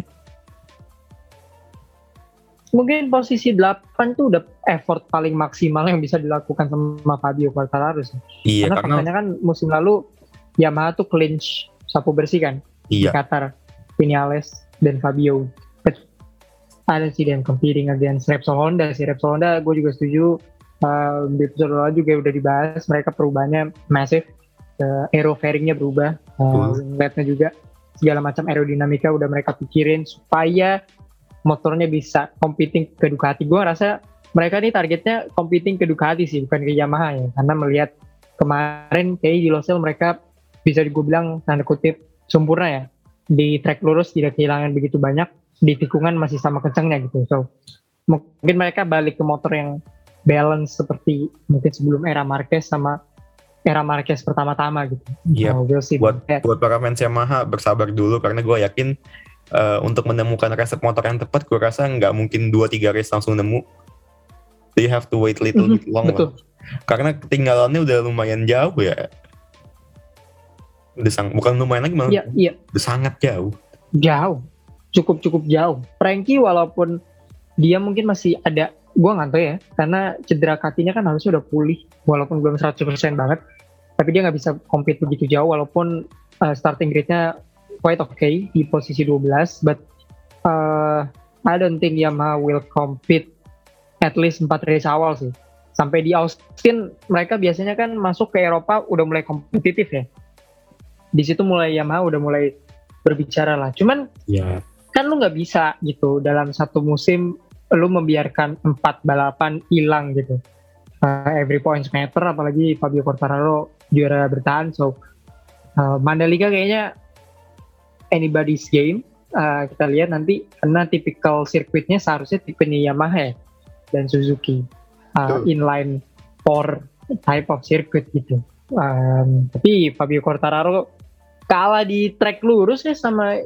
S1: Mungkin posisi delapan tuh udah effort paling maksimal yang bisa dilakukan sama Fabio Quartararo.
S2: Iya,
S1: karena,
S2: karena
S1: faktanya kan musim lalu Yamaha tuh clinch sapu bersih kan,
S2: iya.
S1: Di Qatar, Vinales dan Fabio. But ada sih yang competing against Repsol Honda sih. Repsol Honda gue juga setuju, uh, di episode lalu juga udah dibahas, mereka perubahannya massive, uh, aero fairingnya berubah, uh, wingletnya juga, segala macam aerodinamika udah mereka pikirin supaya motornya bisa competing ke Ducati. Gue rasa mereka nih targetnya competing ke Ducati sih, bukan ke Yamaha ya. Karena melihat kemarin kayak di Losail mereka bisa gue bilang tanda kutip sempurna ya. Di track lurus tidak kehilangan begitu banyak, di tikungan masih sama kencangnya gitu. So mungkin mereka balik ke motor yang balance seperti mungkin sebelum era Marquez sama era Marquez pertama-tama gitu.
S2: Iya. So, we'll see buat buat para fans Yamaha bersabar dulu, karena gue yakin Uh, untuk menemukan resep motor yang tepat, gue rasa nggak mungkin dua tiga race langsung nemu. They have to wait little bit long lah. Karena ketinggalannya udah lumayan jauh ya. Udah sang, bukan lumayan lagi malah.
S1: Iya, iya.
S2: Udah sangat jauh.
S1: Jauh. Cukup-cukup jauh. Frankie walaupun dia mungkin masih ada, gue nggak tahu ya, karena cedera kakinya kan harusnya udah pulih, walaupun belum seratus persen banget. Tapi dia nggak bisa compete begitu jauh, walaupun uh, starting grid-nya quite okay di posisi dua belas, but uh, I don't think Yamaha will compete at least empat race awal sih. Sampai di Austin mereka biasanya kan masuk ke Eropa udah mulai kompetitif ya. Di situ mulai Yamaha udah mulai berbicara lah. Cuman
S2: yeah.
S1: kan lu nggak bisa gitu dalam satu musim lu membiarkan empat balapan hilang gitu. Uh, every points matter, apalagi Fabio Quartararo juara bertahan. So uh, Mandalika kayaknya anybody's game. Uh, kita lihat nanti, karena typical sirkuitnya seharusnya tipenya Yamaha dan Suzuki, uh, inline four type of circuit gitu. Um, tapi Fabio Quartararo kalah di track lurus ya sama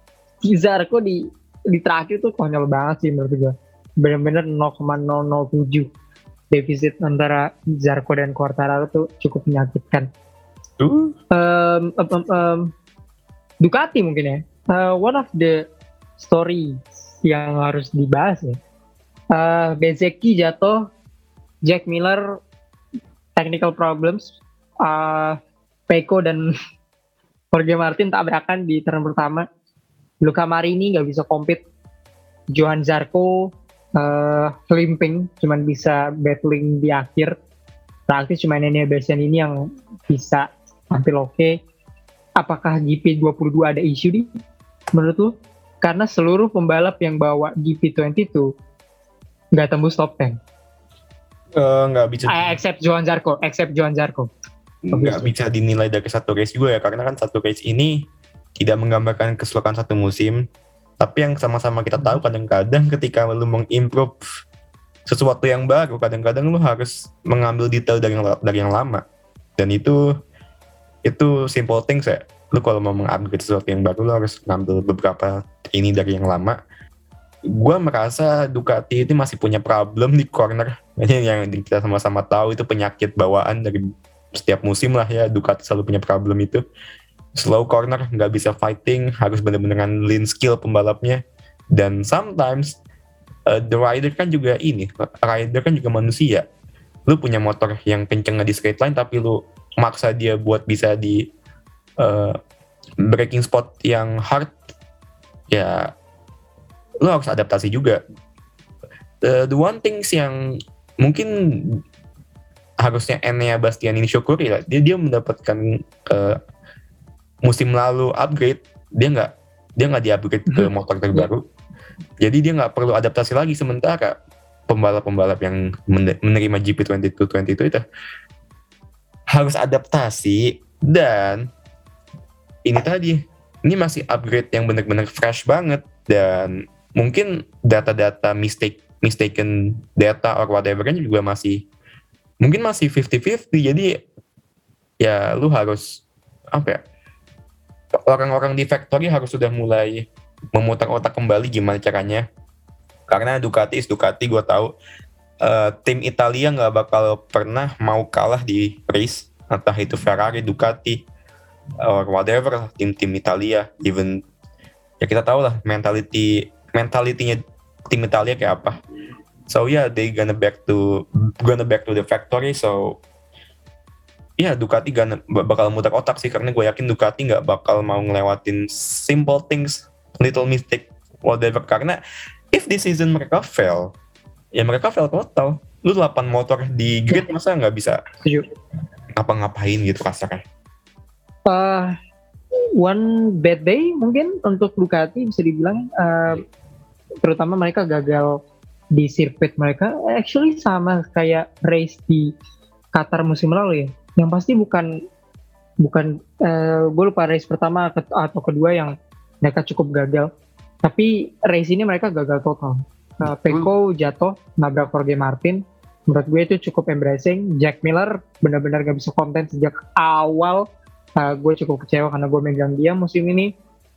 S1: Zarco di di terakhir tuh konyol banget sih menurut gue. Bener-bener nol koma nol nol tujuh defisit antara Zarco dan Quartararo tuh cukup menyakitkan. Uh. Um, um, um, um, Ducati mungkin ya. Uh, one of the story yang harus dibahas ya. Uh, Bezzecchi jatuh, Jack Miller technical problems, uh, Pecco dan Jorge Martin tabrakan di turn pertama. Luca Marini nggak bisa compete, Johan Zarco uh, limping, cuman bisa battling di akhir. Praktis cuma Enea Bastianini yang bisa tampil oke. Okay. Apakah G P dua puluh dua ada isu nih menurut lu? Karena seluruh pembalap yang bawa G P dua puluh dua nggak tembus top sepuluh.
S2: Uh, nggak bisa.
S1: Uh, except Johan Zarco, except Johan Zarco.
S2: Nggak bisa dinilai dari satu race juga ya, karena kan satu race ini tidak menggambarkan keseluruhan satu musim. Tapi yang sama-sama kita tahu, kadang-kadang ketika lu mengimprove sesuatu yang baru, kadang-kadang lu harus mengambil detail dari yang, dari yang lama. Dan itu itu simple things ya. Lu kalau mau mengupgrade sesuatu yang baru, lu harus ngambil beberapa ini dari yang lama. Gue merasa Ducati itu masih punya problem di corner. Ini yang kita sama-sama tahu, itu penyakit bawaan dari setiap musim lah ya. Ducati selalu punya problem itu. Slow corner, nggak bisa fighting, harus bener-beneran lean skill pembalapnya. Dan sometimes uh, the rider kan juga ini, rider kan juga manusia. Lu punya motor yang kenceng di straight line, tapi lu maksa dia buat bisa di uh, braking spot yang hard, ya lu harus adaptasi juga. Uh, the one things yang mungkin harusnya Enea Bastianini syukuri lah, dia dia mendapatkan uh, musim lalu upgrade, dia nggak dia nggak di-upgrade ke motor terbaru, jadi dia nggak perlu adaptasi lagi. Sementara pembalap-pembalap yang menerima G P dua puluh dua dua puluh dua itu harus adaptasi, dan ini tadi, ini masih upgrade yang benar-benar fresh banget, dan mungkin data-data mistake mistaken data or whatever kan juga masih mungkin masih fifty fifty. Jadi ya lu harus apa ya, orang-orang di factory harus sudah mulai memutar otak kembali gimana caranya, karena Ducati is Ducati. Gue tahu uh, tim Italia nggak bakal pernah mau kalah di race, entah itu Ferrari, Ducati, or whatever, tim-tim Italia. Even ya kita tahu lah mentality mentalitinya tim Italia kayak apa. So yeah, they gonna back to gonna back to the factory. So ya, Ducati gak bakal muter otak sih, karena gue yakin Ducati gak bakal mau ngelewatin simple things, little mistake, whatever. Karena if this season mereka fail, ya mereka fail total. Lu delapan motor di grid, masa gak bisa ngapa-ngapain gitu kasarnya.
S1: Uh, one bad day mungkin untuk Ducati bisa dibilang, uh, terutama mereka gagal di sirkuit mereka. Actually sama kayak race di Qatar musim lalu ya, yang pasti bukan bukan uh, gue lupa race pertama atau kedua yang mereka cukup gagal, tapi race ini mereka gagal total. uh, Pecco jatuh nabrak Jorge Martin, menurut gue itu cukup embarrassing. Jack Miller benar-benar gak bisa konten sejak awal. uh, gue cukup kecewa karena gue megang dia musim ini.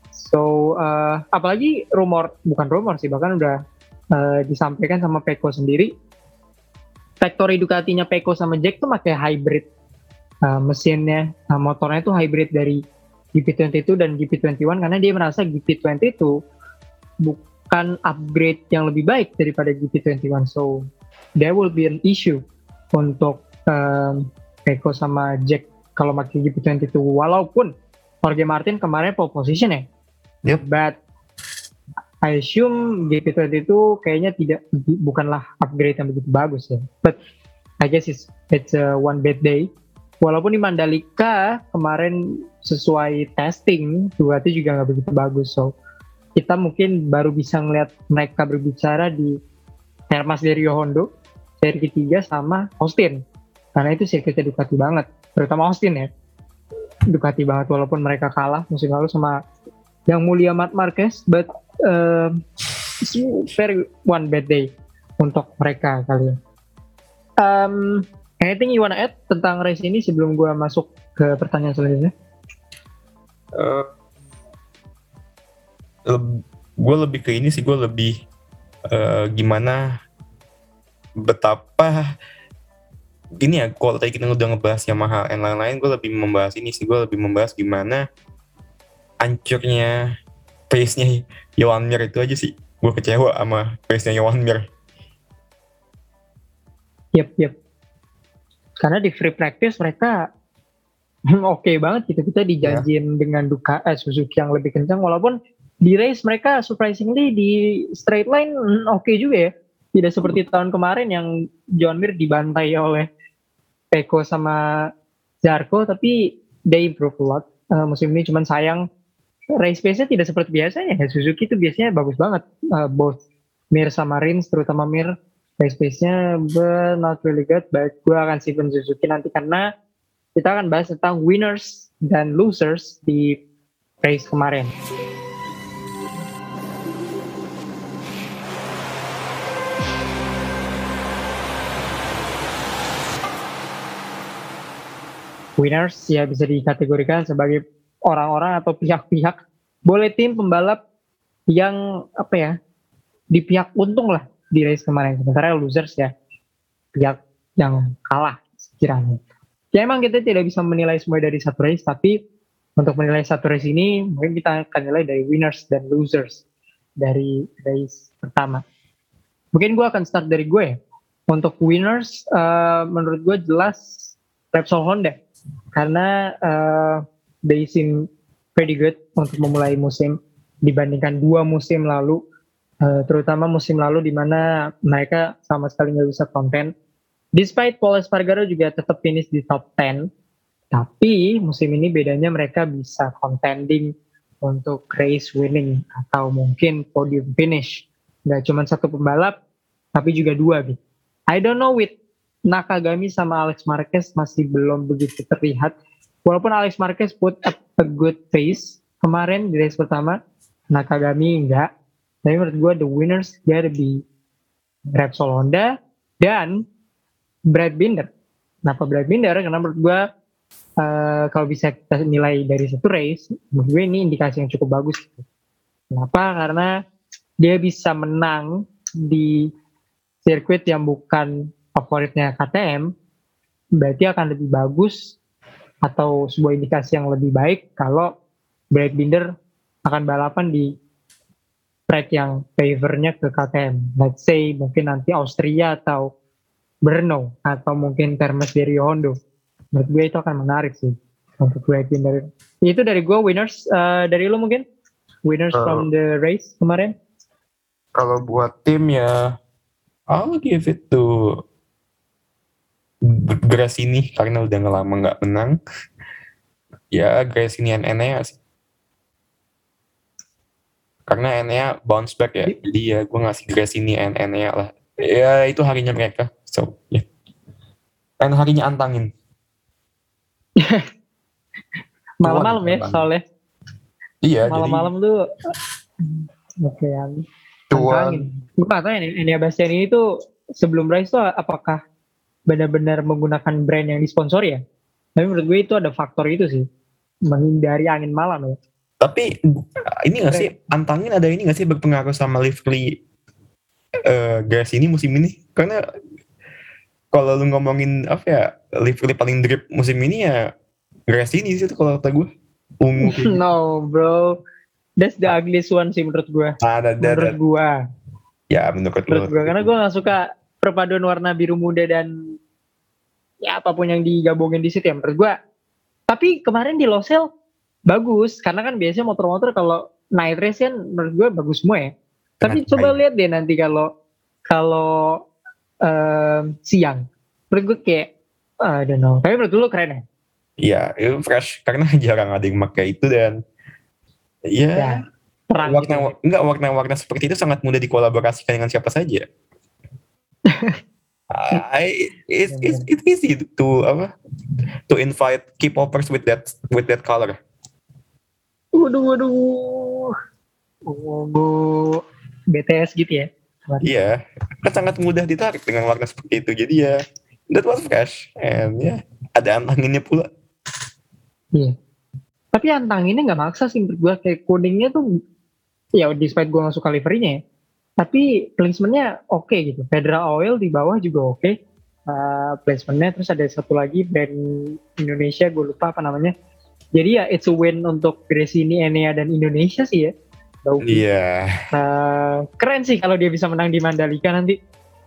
S1: So uh, apalagi rumor, bukan rumor sih, bahkan udah uh, disampaikan sama Pecco sendiri, factory Ducatinya Pecco sama Jack tuh pakai hybrid uh, mesinnya, uh, motornya tuh hybrid dari G P dua puluh dua dan G P dua puluh satu, karena dia merasa G P dua puluh dua bukan upgrade yang lebih baik daripada G P dua puluh satu. So there will be an issue untuk um, Pecco sama Jack kalau pakai G P dua puluh dua, walaupun Jorge Martin kemarin pole position ya.
S2: Yep.
S1: But I assume G P dua puluh dua kayaknya tidak, bukanlah upgrade yang begitu bagus ya. But I guess it's it's a one bad day. Walaupun di Mandalika kemarin sesuai testing Ducati juga nggak begitu bagus. So kita mungkin baru bisa ngeliat mereka berbicara di Hermas de Rio Hondo seri ketiga sama Austin, karena itu sirkuitnya Ducati banget, terutama Austin ya, Ducati banget walaupun mereka kalah musim lalu sama yang mulia Marc Marquez, but uh, it's very one bad day untuk mereka kali ya. Um, anything you wanna add tentang race ini sebelum gue masuk ke pertanyaan selanjutnya?
S2: Uh, le- gue lebih ke ini sih, gue lebih uh, gimana betapa gini ya, kalau tadi kita udah ngebahas Yamaha dan lain-lain, gue lebih membahas ini sih, gue lebih membahas gimana hancurnya pace-nya Joan Mir itu aja sih. Gue kecewa sama pace-nya Joan Mir.
S1: Yep, yep. Karena di free practice mereka oke okay banget gitu, kita dijanjiin yeah. dengan Ducati eh, Suzuki yang lebih kencang, walaupun di race mereka surprisingly di straight line oke okay juga ya, tidak seperti tahun kemarin yang Joan Mir dibantai oleh Pecco sama Zarco, tapi they improve a lot uh, musim ini. Cuman sayang race pace-nya tidak seperti biasanya ya. Suzuki itu biasanya bagus banget, uh, both Mir sama Rins, terutama Mir race pace-nya but not really good. But gue akan simpen Suzuki nanti karena kita akan bahas tentang winners dan losers di race kemarin. Winners ya bisa dikategorikan sebagai orang-orang atau pihak-pihak, boleh tim pembalap yang apa ya, di pihak untung lah di race kemarin. Sementara losers ya pihak yang kalah sekiranya. Ya emang kita tidak bisa menilai semua dari satu race, tapi untuk menilai satu race ini mungkin kita akan nilai dari winners dan losers dari race pertama. Mungkin gue akan start dari gue ya. Untuk winners, uh, menurut gue jelas Repsol Honda, karena uh, they seem pretty good untuk memulai musim dibandingkan dua musim lalu, uh, terutama musim lalu di mana mereka sama sekali nggak bisa konten. Despite Pol Espargaro juga tetap finish di top sepuluh, tapi musim ini bedanya mereka bisa contending untuk race winning atau mungkin podium finish. Nggak cuma satu pembalap, tapi juga dua gitu. I don't know with Nakagami sama Alex Marquez masih belum begitu terlihat. Walaupun Alex Marquez put up a good pace kemarin di race pertama, Nakagami enggak. Tapi menurut gue the winners gotta be Repsol Honda dan Brad Binder. Kenapa Brad Binder? Karena menurut gue uh, kalau bisa kita nilai dari satu race, menurut gue ini indikasi yang cukup bagus. Kenapa? Karena dia bisa menang di sirkuit yang bukan favoritnya K T M, berarti akan lebih bagus atau sebuah indikasi yang lebih baik kalau Brad Binder akan balapan di track yang favornya ke K T M. Let's say mungkin nanti Austria atau Brno atau mungkin Hermes de Rio Hondo. Menurut gue itu akan menarik sih untuk Brad Binder. Itu dari gue winners. Uh, dari lo mungkin winners uh, from the race kemarin?
S2: Kalau buat tim ya I'll give it to Gresini karena udah lama nggak menang. Ya Gresini and Enea sih. Karena Enea bounce back ya. Jadi ya gue ngasih Gresini and Enea lah. Ya itu harinya mereka. So ya. Yeah. Dan harinya antangin.
S1: Malam-malam ya soalnya.
S2: Iya.
S1: Malam-malam
S2: jadi...
S1: tuh. Oke ya. Antangin. Gue gak tau ya Enea Bastianini itu sebelum race tuh apakah benar-benar menggunakan brand yang disponsori ya? Tapi menurut gue itu ada faktor itu sih, menghindari angin malam ya.
S2: Tapi ini nggak sih antangin ada ini nggak sih berpengaruh sama livery uh, gas ini musim ini? Karena kalau lu ngomongin apa ya livery paling drip musim ini ya gas ini sih kalau kata gue. Ungu.
S1: No bro, that's the ugliest one sih menurut gue.
S2: Ada, ada,
S1: menurut gue.
S2: Ya menurut,
S1: menurut gue karena gue nggak suka perpaduan warna biru muda dan ya apapun yang digabungin di situ ya menurut gue. Tapi kemarin di Losail bagus karena kan biasanya motor-motor kalau night race kan menurut gue bagus semua ya. Tapi coba lihat deh nanti kalau kalau um, siang, menurut gue kayak I don't know. Tapi menurut lu keren ya?
S2: Iya, itu fresh karena jarang ada yang pakai itu dan ya.
S1: ya. Terang
S2: warna
S1: gitu.
S2: enggak warna-warna seperti itu sangat mudah dikolaborasikan dengan siapa saja. I it's, it's it's easy to apa to invite K-popers with that with that color.
S1: Waduh, waduh. Oh, bu B T S gitu ya.
S2: Iya, kan sangat mudah ditarik dengan warna seperti itu. Jadi ya, that was fresh. And ya, yeah, ada antanginnya pula.
S1: Iya. Tapi antanginnya nggak maksa sih menurut gue. Kayak codingnya tuh, ya despite gue nggak suka liverynya ya. Tapi placementnya oke okay gitu. Federal Oil di bawah juga oke. Okay. Uh, placementnya, terus ada satu lagi brand Indonesia, gue lupa apa namanya. Jadi ya it's a win untuk Gresini, Enea, dan Indonesia sih ya.
S2: Iya. Yeah.
S1: Uh, keren sih kalau dia bisa menang di Mandalika nanti.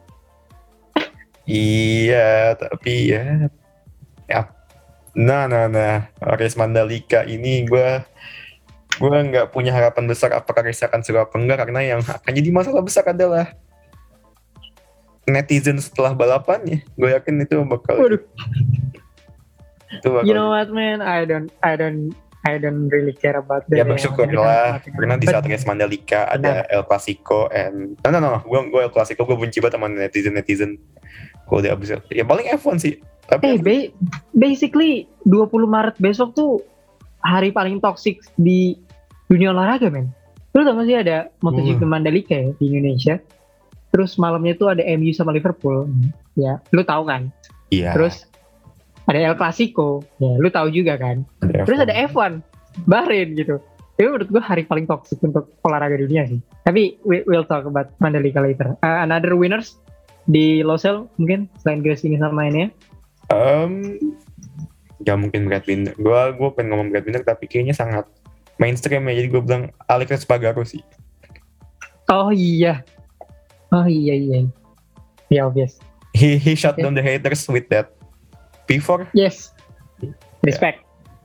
S2: Iya, tapi ya, ya. Nah, nah, nah, race Mandalika ini gue, gue nggak punya harapan besar apakah race akan seru apa enggak, karena yang akan jadi masalah besar adalah netizen setelah balapannya. Gue yakin itu bakal.
S1: Waduh.
S2: Itu bakal.
S1: You know what, man? I don't, I don't. I don't really care about that.
S2: Ya bersyukur lah, karena di saat race Mandalika ada El Clasico and no no no, gue gue El Clasico gue benci banget sama netizen netizen. Kalau udah abis ya paling F satu sih.
S1: Tapi hey, ba- basically dua puluh Maret besok tuh hari paling toksik di dunia olahraga, men. Lu tau gak sih ada MotoGP uh. Mandalika ya di Indonesia? Terus malamnya tuh ada M U sama Liverpool, ya. Lu tahu kan?
S2: Iya.
S1: Terus ada El Clasico, ya lu tahu juga kan. Ada Terus F satu. Ada F satu, Bahrain gitu. Itu menurut gue hari paling toksik untuk olahraga dunia sih. Tapi we, we'll talk about Mandalika later. Uh, another winners di Losail mungkin selain Gresini sama ini ya?
S2: Um, gak mungkin Brad Binder. Gue gue pengen ngomong Brad Binder tapi kayaknya sangat mainstream ya. Jadi gue bilang Alex Espargaro sih.
S1: Oh iya, oh iya iya, ya yeah, obvious.
S2: He he shut yeah. down the haters with that. P four?
S1: Yes. Respect.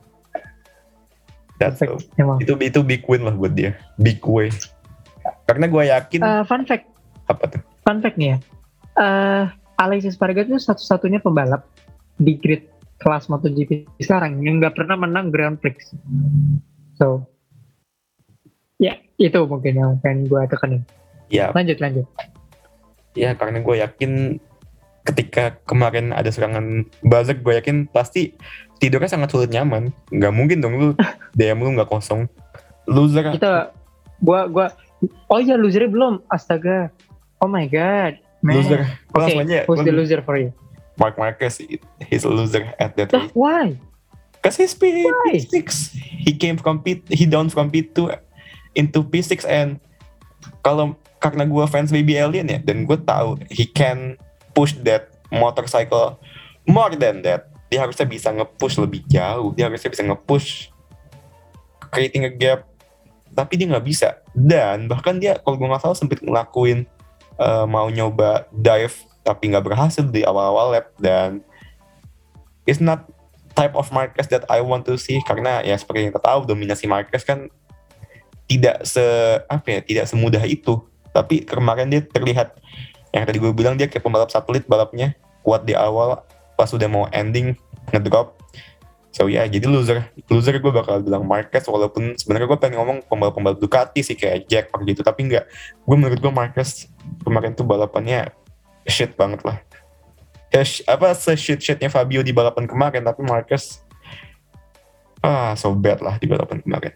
S2: Yeah. That's Respect. A, itu itu big win lah buat dia. Big way. Karena gue yakin.
S1: Uh, fun fact.
S2: Apa tuh?
S1: Fun fact nih ya. Uh, Alex Espargaro itu satu-satunya pembalap di grid kelas MotoGP sekarang yang nggak pernah menang Grand Prix. So, ya yeah, itu mungkin yang pengen gue tekanin.
S2: Ya. Yeah.
S1: Lanjut lanjut.
S2: Ya karena gue yakin. Ketika kemarin ada serangan buzzer, gue yakin pasti tidurnya sangat sulit nyaman. Nggak mungkin dong lu D M lu nggak kosong. Loser.
S1: Kita, gua gua. Oh iya losernya belum. Astaga. Oh my god. Man.
S2: Loser.
S1: Oke. Okay. Who's the loser for you?
S2: Mark Marquez. He's a loser at that
S1: race. Why?
S2: Because he's P six. He came from P. He down from P two into P six and kalau karena gue fans Baby Alien ya, dan gue tahu he can push that motorcycle more than that. Dia harusnya bisa nge-push lebih jauh. Dia harusnya bisa nge-push creating a gap. Tapi dia gak bisa. Dan bahkan dia kalau gue gak salah sempet ngelakuin uh, mau nyoba dive tapi gak berhasil di awal-awal lap. Dan it's not type of Marquez that I want to see. Karena ya seperti yang kita tahu dominasi Marquez kan tidak se apa ya, tidak semudah itu. Tapi kemarin dia terlihat yang tadi gue bilang dia kayak pembalap satelit balapnya, kuat di awal, pas udah mau ending ngedrop. So ya yeah, jadi loser loser gue bakal bilang Marquez, walaupun sebenarnya gue pengen ngomong pembalap-pembalap Ducati sih kayak Jack gitu, tapi enggak. Gue menurut gue Marquez kemarin tuh balapannya shit banget lah. Ya, sh- apa se-shit-shitnya Fabio di balapan kemarin, tapi Marquez ah so bad lah di balapan kemarin.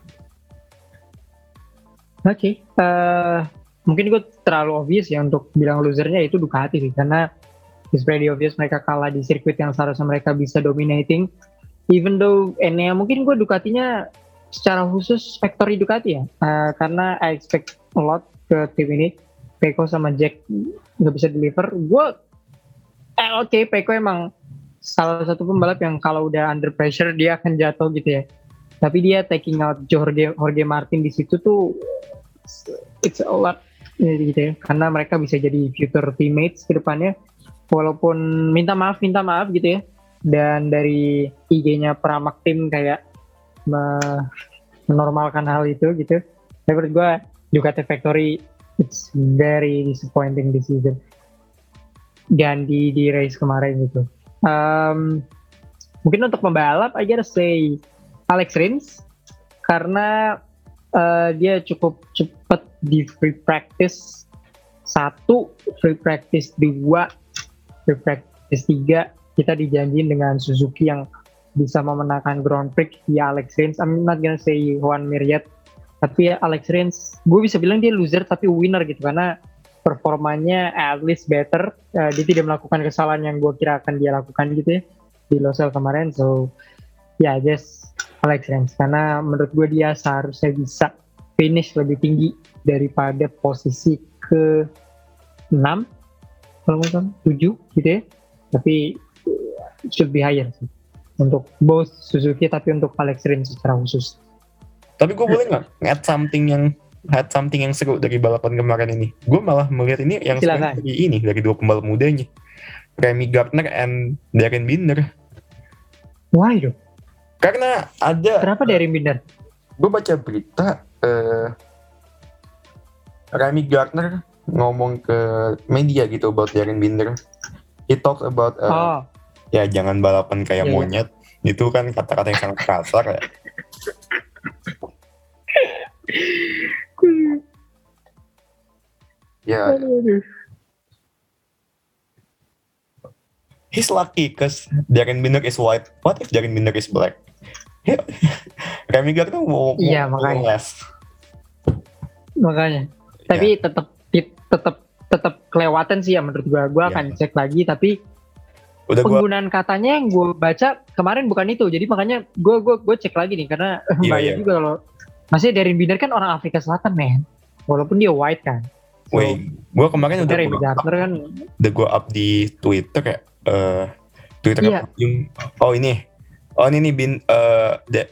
S1: Oke, okay. uh, mungkin gue terlalu obvious ya untuk bilang losernya itu Ducati sih, karena it's pretty obvious mereka kalah di sirkuit yang seharusnya mereka bisa dominating. Even though Enea mungkin gue Ducatinya secara khusus factory Ducati ya, uh, karena I expect a lot ke tim ini. Pecco sama Jack nggak bisa deliver. Gue, eh, oke okay, Pecco emang salah satu pembalap yang kalau udah under pressure dia akan jatuh gitu ya. Tapi dia taking out Jorge, Jorge Martin di situ tuh it's a lot gitu ya. Karena mereka bisa jadi future teammates ke depannya. Walaupun minta maaf, minta maaf gitu ya. Dan dari I G-nya Pramac Team kayak menormalkan hal itu gitu. Tapi menurut gue Ducati Factory it's very disappointing this season. Dan di, di race kemarin gitu. Um, mungkin untuk pembalap I gotta say Alex Rins, karena uh, dia cukup cepat di free practice satu, free practice dua, free practice tiga. Kita dijanjiin dengan Suzuki yang bisa memenangkan Grand Prix via Alex Rins. I'm not gonna say Juan Mir yet, tapi ya Alex Rins, gue bisa bilang dia loser tapi winner gitu, karena performanya at least better. Uh, dia tidak melakukan kesalahan yang gue kira akan dia lakukan gitu ya di Losail kemarin. So ya yeah, just Alex Rins, karena menurut gue dia seharusnya bisa finish lebih tinggi daripada posisi ke enam kalau nggak salah, tujuh gitu ya. Tapi it should be higher sih untuk both Suzuki, tapi untuk Alex Rins secara khusus.
S2: Tapi gue boleh nggak add something yang add something yang seru dari balapan kemarin ini? Gue malah melihat ini yang seru dari ini, dari dua pembalap mudanya, Remy Gardner and Darren Binder.
S1: Why dong?
S2: Karena ada.
S1: Kenapa Darren Binder?
S2: Gue baca berita uh, Remy Gardner ngomong ke media gitu about Darren Binder. He talks about uh, oh. ya jangan balapan kayak yeah, monyet. Yeah. Itu kan kata-kata yang sangat kasar ya. Ya. Yeah. He's lucky because Darren Binder is white. What if Darren Binder is black? Remy Gardner mau
S1: iya, mau makanya. Les. Makanya. Tapi yeah. tetap tetap tetap kelewatan sih ya menurut gue. Gue yeah. akan cek lagi, tapi udah penggunaan gua... katanya yang gue baca kemarin bukan itu. Jadi makanya gue gue gue cek lagi nih, karena yeah, bahaya yeah. juga kalau masih Darren Binder kan orang Afrika Selatan, men. Walaupun dia white kan.
S2: So, wait, gue kemarin udah gue up, kan udah gue up di Twitter kayak uh, Twitter yeah. yang oh ini oh ini nih bin uh, de,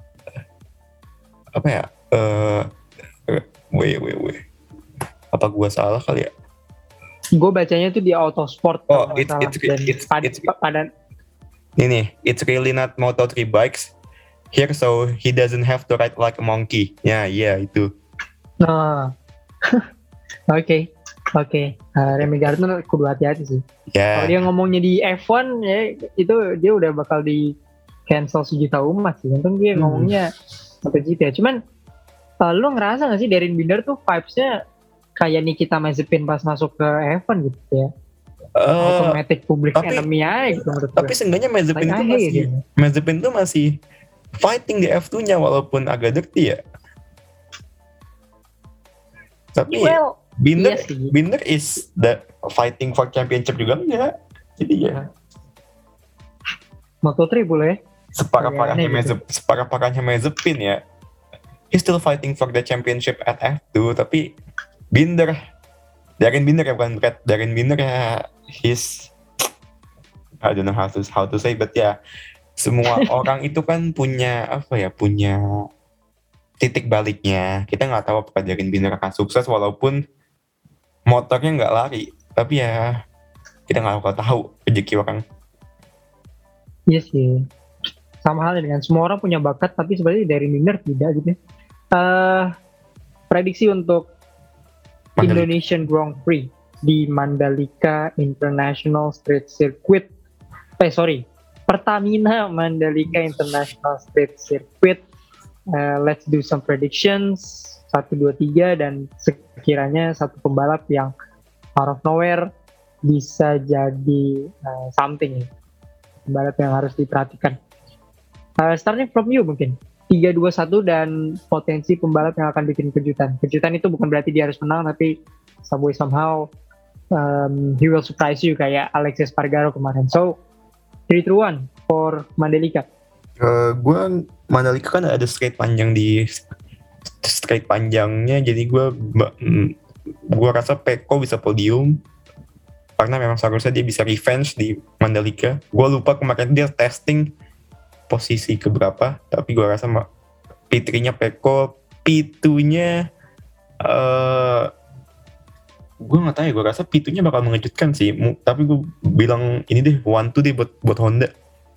S2: apa ya uh, wait wait wait apa gue salah kali ya?
S1: Gue bacanya tuh di Autosport.
S2: Oh, it's it's it's, it's,
S1: pad,
S2: it's
S1: padan.
S2: Ini, it's really not Moto three bikes here, so he doesn't have to ride like a monkey. Ya, yeah, iya yeah, itu.
S1: Nah, oke, okay. oke. Okay. Uh, Remy Gardner kudu hati-hati sih.
S2: Yeah.
S1: Kalau dia ngomongnya di F one ya, itu dia udah bakal di cancel sejuta umat sih. Untung dia hmm. ngomongnya sampai gitu ya. Cuman, uh, lu ngerasa nggak sih Darren Binder tuh vibes-nya kayak Nikita Mazepin pas masuk ke F one gitu ya? Uh, Automatic public tapi, enemy aja gitu menurut
S2: tapi seenggaknya Mazepin tuh masih gitu. Mazepin tuh masih fighting di F two nya walaupun agak dirty ya. Tapi well, Binder iya Binder is the fighting for championship juga enggak. Jadi ya
S1: Moto three boleh.
S2: Separah-parahnya Mazepin, gitu. separah-parahnya Mazepin ya. He's still fighting for the championship at F two, tapi Binder, Darren Binder ya bukan Brad, Darren Binder ya, he's, I don't know how to how to say, but ya semua orang itu kan punya apa ya, punya titik baliknya. Kita nggak tahu apakah Darren Binder akan sukses walaupun motornya nggak lari, tapi ya kita nggak bakal tahu rezeki orang.
S1: Iya sih, sama halnya dengan semua orang punya bakat, tapi sebenarnya Darren Binder tidak gitu. Uh, prediksi untuk Indonesian Grand Prix di Mandalika International Street Circuit. Eh sorry, Pertamina Mandalika International Street Circuit. Uh, let's do some predictions. Satu, dua, tiga, dan sekiranya satu pembalap yang out of nowhere bisa jadi uh, something. Pembalap yang harus diperhatikan. Uh, starting from you mungkin. tiga dua satu dan potensi pembalap yang akan bikin kejutan. Kejutan itu bukan berarti dia harus menang, tapi some way somehow um, he will surprise you kayak Alexis Espargaro kemarin. So, three two one for Mandalika.
S2: Uh, gue Mandalika kan ada straight panjang di straight panjangnya, jadi gue gue rasa Pecco bisa podium karena memang seharusnya dia bisa revenge di Mandalika. Gue lupa kemarin dia testing posisi keberapa, tapi gue rasa P three-nya Pecco, P two-nya uh, gue nggak tahu ya, gue rasa P two-nya bakal mengejutkan sih, tapi gue bilang ini deh one two deh buat buat Honda.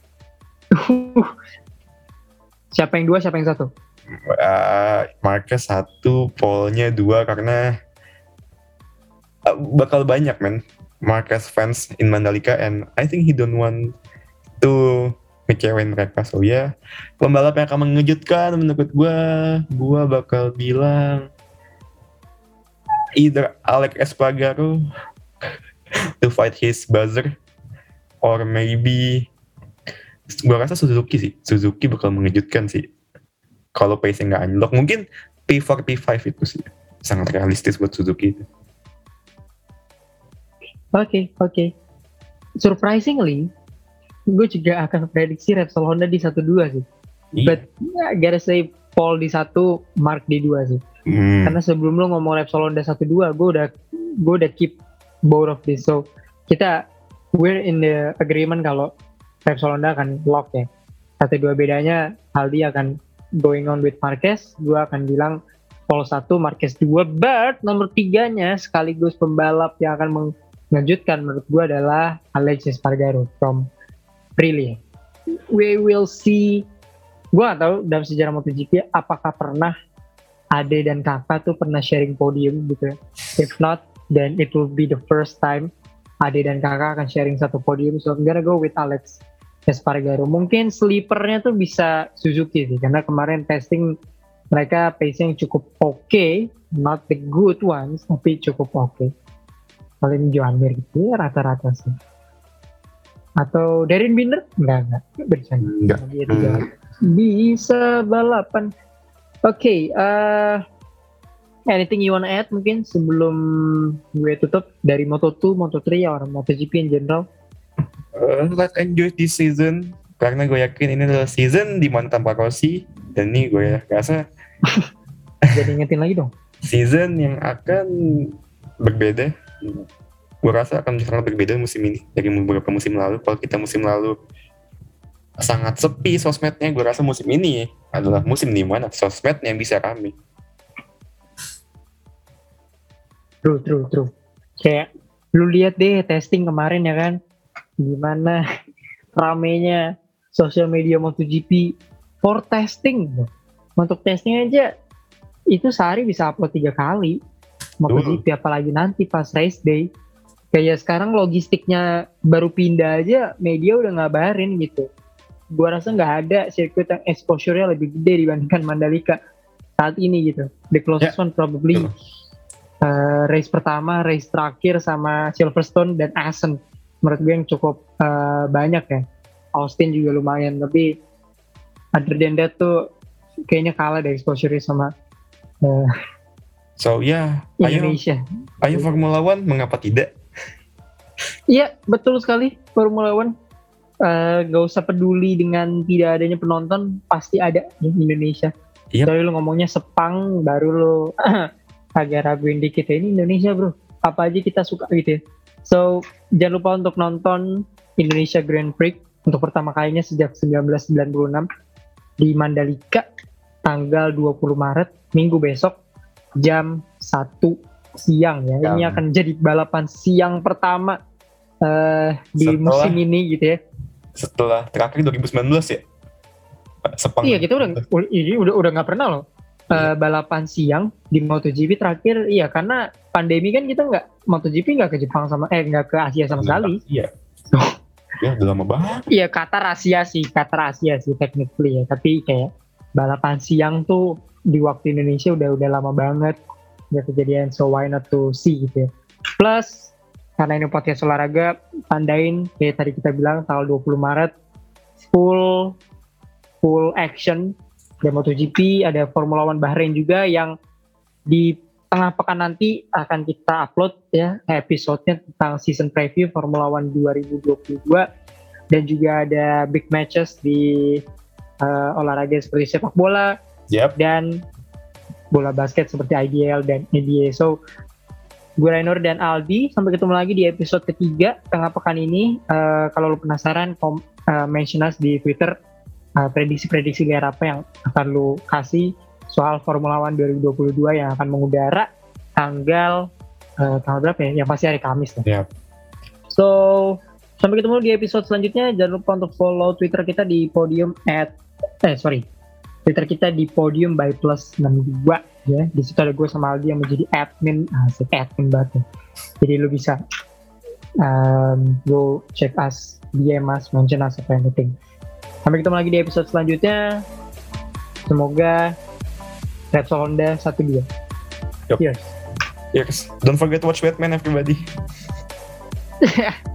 S1: Siapa yang dua, siapa yang satu?
S2: Uh, Marquez satu, Paul-nya dua, karena uh, bakal banyak men Marquez fans in Mandalika, and I think he don't want to ngecewain mereka. So ya, pembalap yang akan mengejutkan menurut gue, gue bakal bilang either Alex Espargaro to fight his buzzer, or maybe gue rasa Suzuki sih. Suzuki bakal mengejutkan sih. Kalau pace-nya nggak unlock, mungkin P four P five itu sih sangat realistis buat Suzuki itu.
S1: Oke, okay, oke. Okay. Surprisingly, gue juga akan prediksi Repsol Honda di satu dua sih. Iya. But I gotta say Paul di satu, Mark di dua sih. Hmm. Karena sebelum lo ngomong Repsol Honda satu dua, gue udah gue udah keep both of this. So kita we're in the agreement kalau Repsol Honda akan lock ya. Satu dua bedanya Aldi akan going on with Marquez, gue akan bilang Paul satu, Marquez dua. But nomor tiganya sekaligus pembalap yang akan mengejutkan menurut gue adalah Alex Espargaro from Aprilia. We will see. Gue gak tahu dalam sejarah MotoGP apakah pernah Ade dan Kakak tuh pernah sharing podium gitu ya. If not, then it will be the first time Ade dan Kakak akan sharing satu podium. So I'm gonna go with Alex Espargaro. Mungkin sleepernya tuh bisa Suzuki sih, karena kemarin testing mereka pace-nya cukup oke, okay, not the good ones, tapi cukup oke. Okay. Paling Joan Mir gitu ya, rata-rata sih. Atau Darren Binder? Enggak, enggak. Bercanda.
S2: Enggak.
S1: Hmm. Bisa balapan. Oke, okay, uh, anything you wanna add mungkin sebelum gue tutup dari Moto two, Moto three, or MotoGP in general?
S2: Uh, let's enjoy this season, karena gue yakin ini adalah season di mana tanpa Rossi, dan ini gue rasa
S1: jadi ingetin lagi dong.
S2: Season yang akan berbeda, gue rasa akan sangat berbeda musim ini dari beberapa musim lalu. Kalau kita musim lalu sangat sepi sosmednya, gue rasa musim ini adalah musim di mana sosmednya yang bisa rame.
S1: True, true, true. Kayak lu lihat deh testing kemarin ya kan, gimana ramenya sosial media MotoGP for testing. Untuk testing aja itu sehari bisa upload tiga kali MotoGP, uh. apalagi nanti pas race day. Kayak sekarang logistiknya baru pindah aja media udah ngabarin gitu. Gua rasa nggak ada sirkuit yang exposure-nya lebih gede dibandingkan Mandalika saat ini gitu. The closest yeah. one probably uh, race pertama, race terakhir sama Silverstone dan Assen. Menurut gue yang cukup uh, banyak ya. Austin juga lumayan, tapi other than that tuh kayaknya kalah dari exposure sama uh,
S2: so ya yeah,
S1: Indonesia.
S2: Ayo, ayo Formula One, mengapa tidak?
S1: Iya, betul sekali. Formula One uh, gak usah peduli dengan tidak adanya penonton, pasti ada di Indonesia. Yep. Dari lu ngomongnya Sepang, baru lu agak raguin dikit ya, ini Indonesia bro, apa aja kita suka gitu ya. So jangan lupa untuk nonton Indonesia Grand Prix untuk pertama kalinya sejak seribu sembilan ratus sembilan puluh enam di Mandalika tanggal dua puluh Maret, minggu besok jam satu siang ya. Ini akan jadi balapan siang pertama uh, di setelah, musim ini gitu ya.
S2: Setelah terakhir dua ribu sembilan belas ya. Sepang.
S1: Iya, kita udah ini udah udah nggak pernah loh uh, balapan siang di MotoGP terakhir. Iya, karena pandemi kan kita nggak MotoGP nggak ke Jepang sama eh nggak ke Asia sama sekali.
S2: Iya. Ya udah lama banget.
S1: Iya, Qatar Asia sih, Qatar Asia sih technically ya. Tapi kayak balapan siang tuh di waktu Indonesia udah udah lama banget nggak kejadian. So why not to see gitu ya. Plus karena ini podcast olahraga, tandain kayak tadi kita bilang tanggal dua puluh Maret full full action ada MotoGP, ada Formula One Bahrain juga yang di tengah pekan nanti akan kita upload ya episode-nya tentang season preview Formula One dua ribu dua puluh dua, dan juga ada big matches di uh, olahraga seperti sepak bola
S2: yep.
S1: dan bola basket seperti I B L dan N B A. So gue Rainur dan Aldi, sampai ketemu lagi di episode ketiga tengah pekan ini. Uh, kalau lo penasaran, kom- uh, mention us di Twitter. Uh, prediksi-prediksi liar apa yang akan lu kasih soal Formula One dua ribu dua puluh dua yang akan mengudara tanggal uh, tanggal berapa ya? Yang pasti hari Kamis lah.
S2: Yep.
S1: So sampai ketemu di episode selanjutnya. Jangan lupa untuk follow Twitter kita di podium at eh sorry Twitter kita di podium by plus enam puluh dua ya. Di situ ada gue sama Aldi yang menjadi admin, asik admin banget. Jadi lu bisa um, go check us, D M us, mention us apa anything. Sampai ketemu lagi di episode selanjutnya. Semoga Repsol Honda satu dua.
S2: Yup.
S1: Cheers.
S2: Yes. Don't forget to watch Batman, everybody.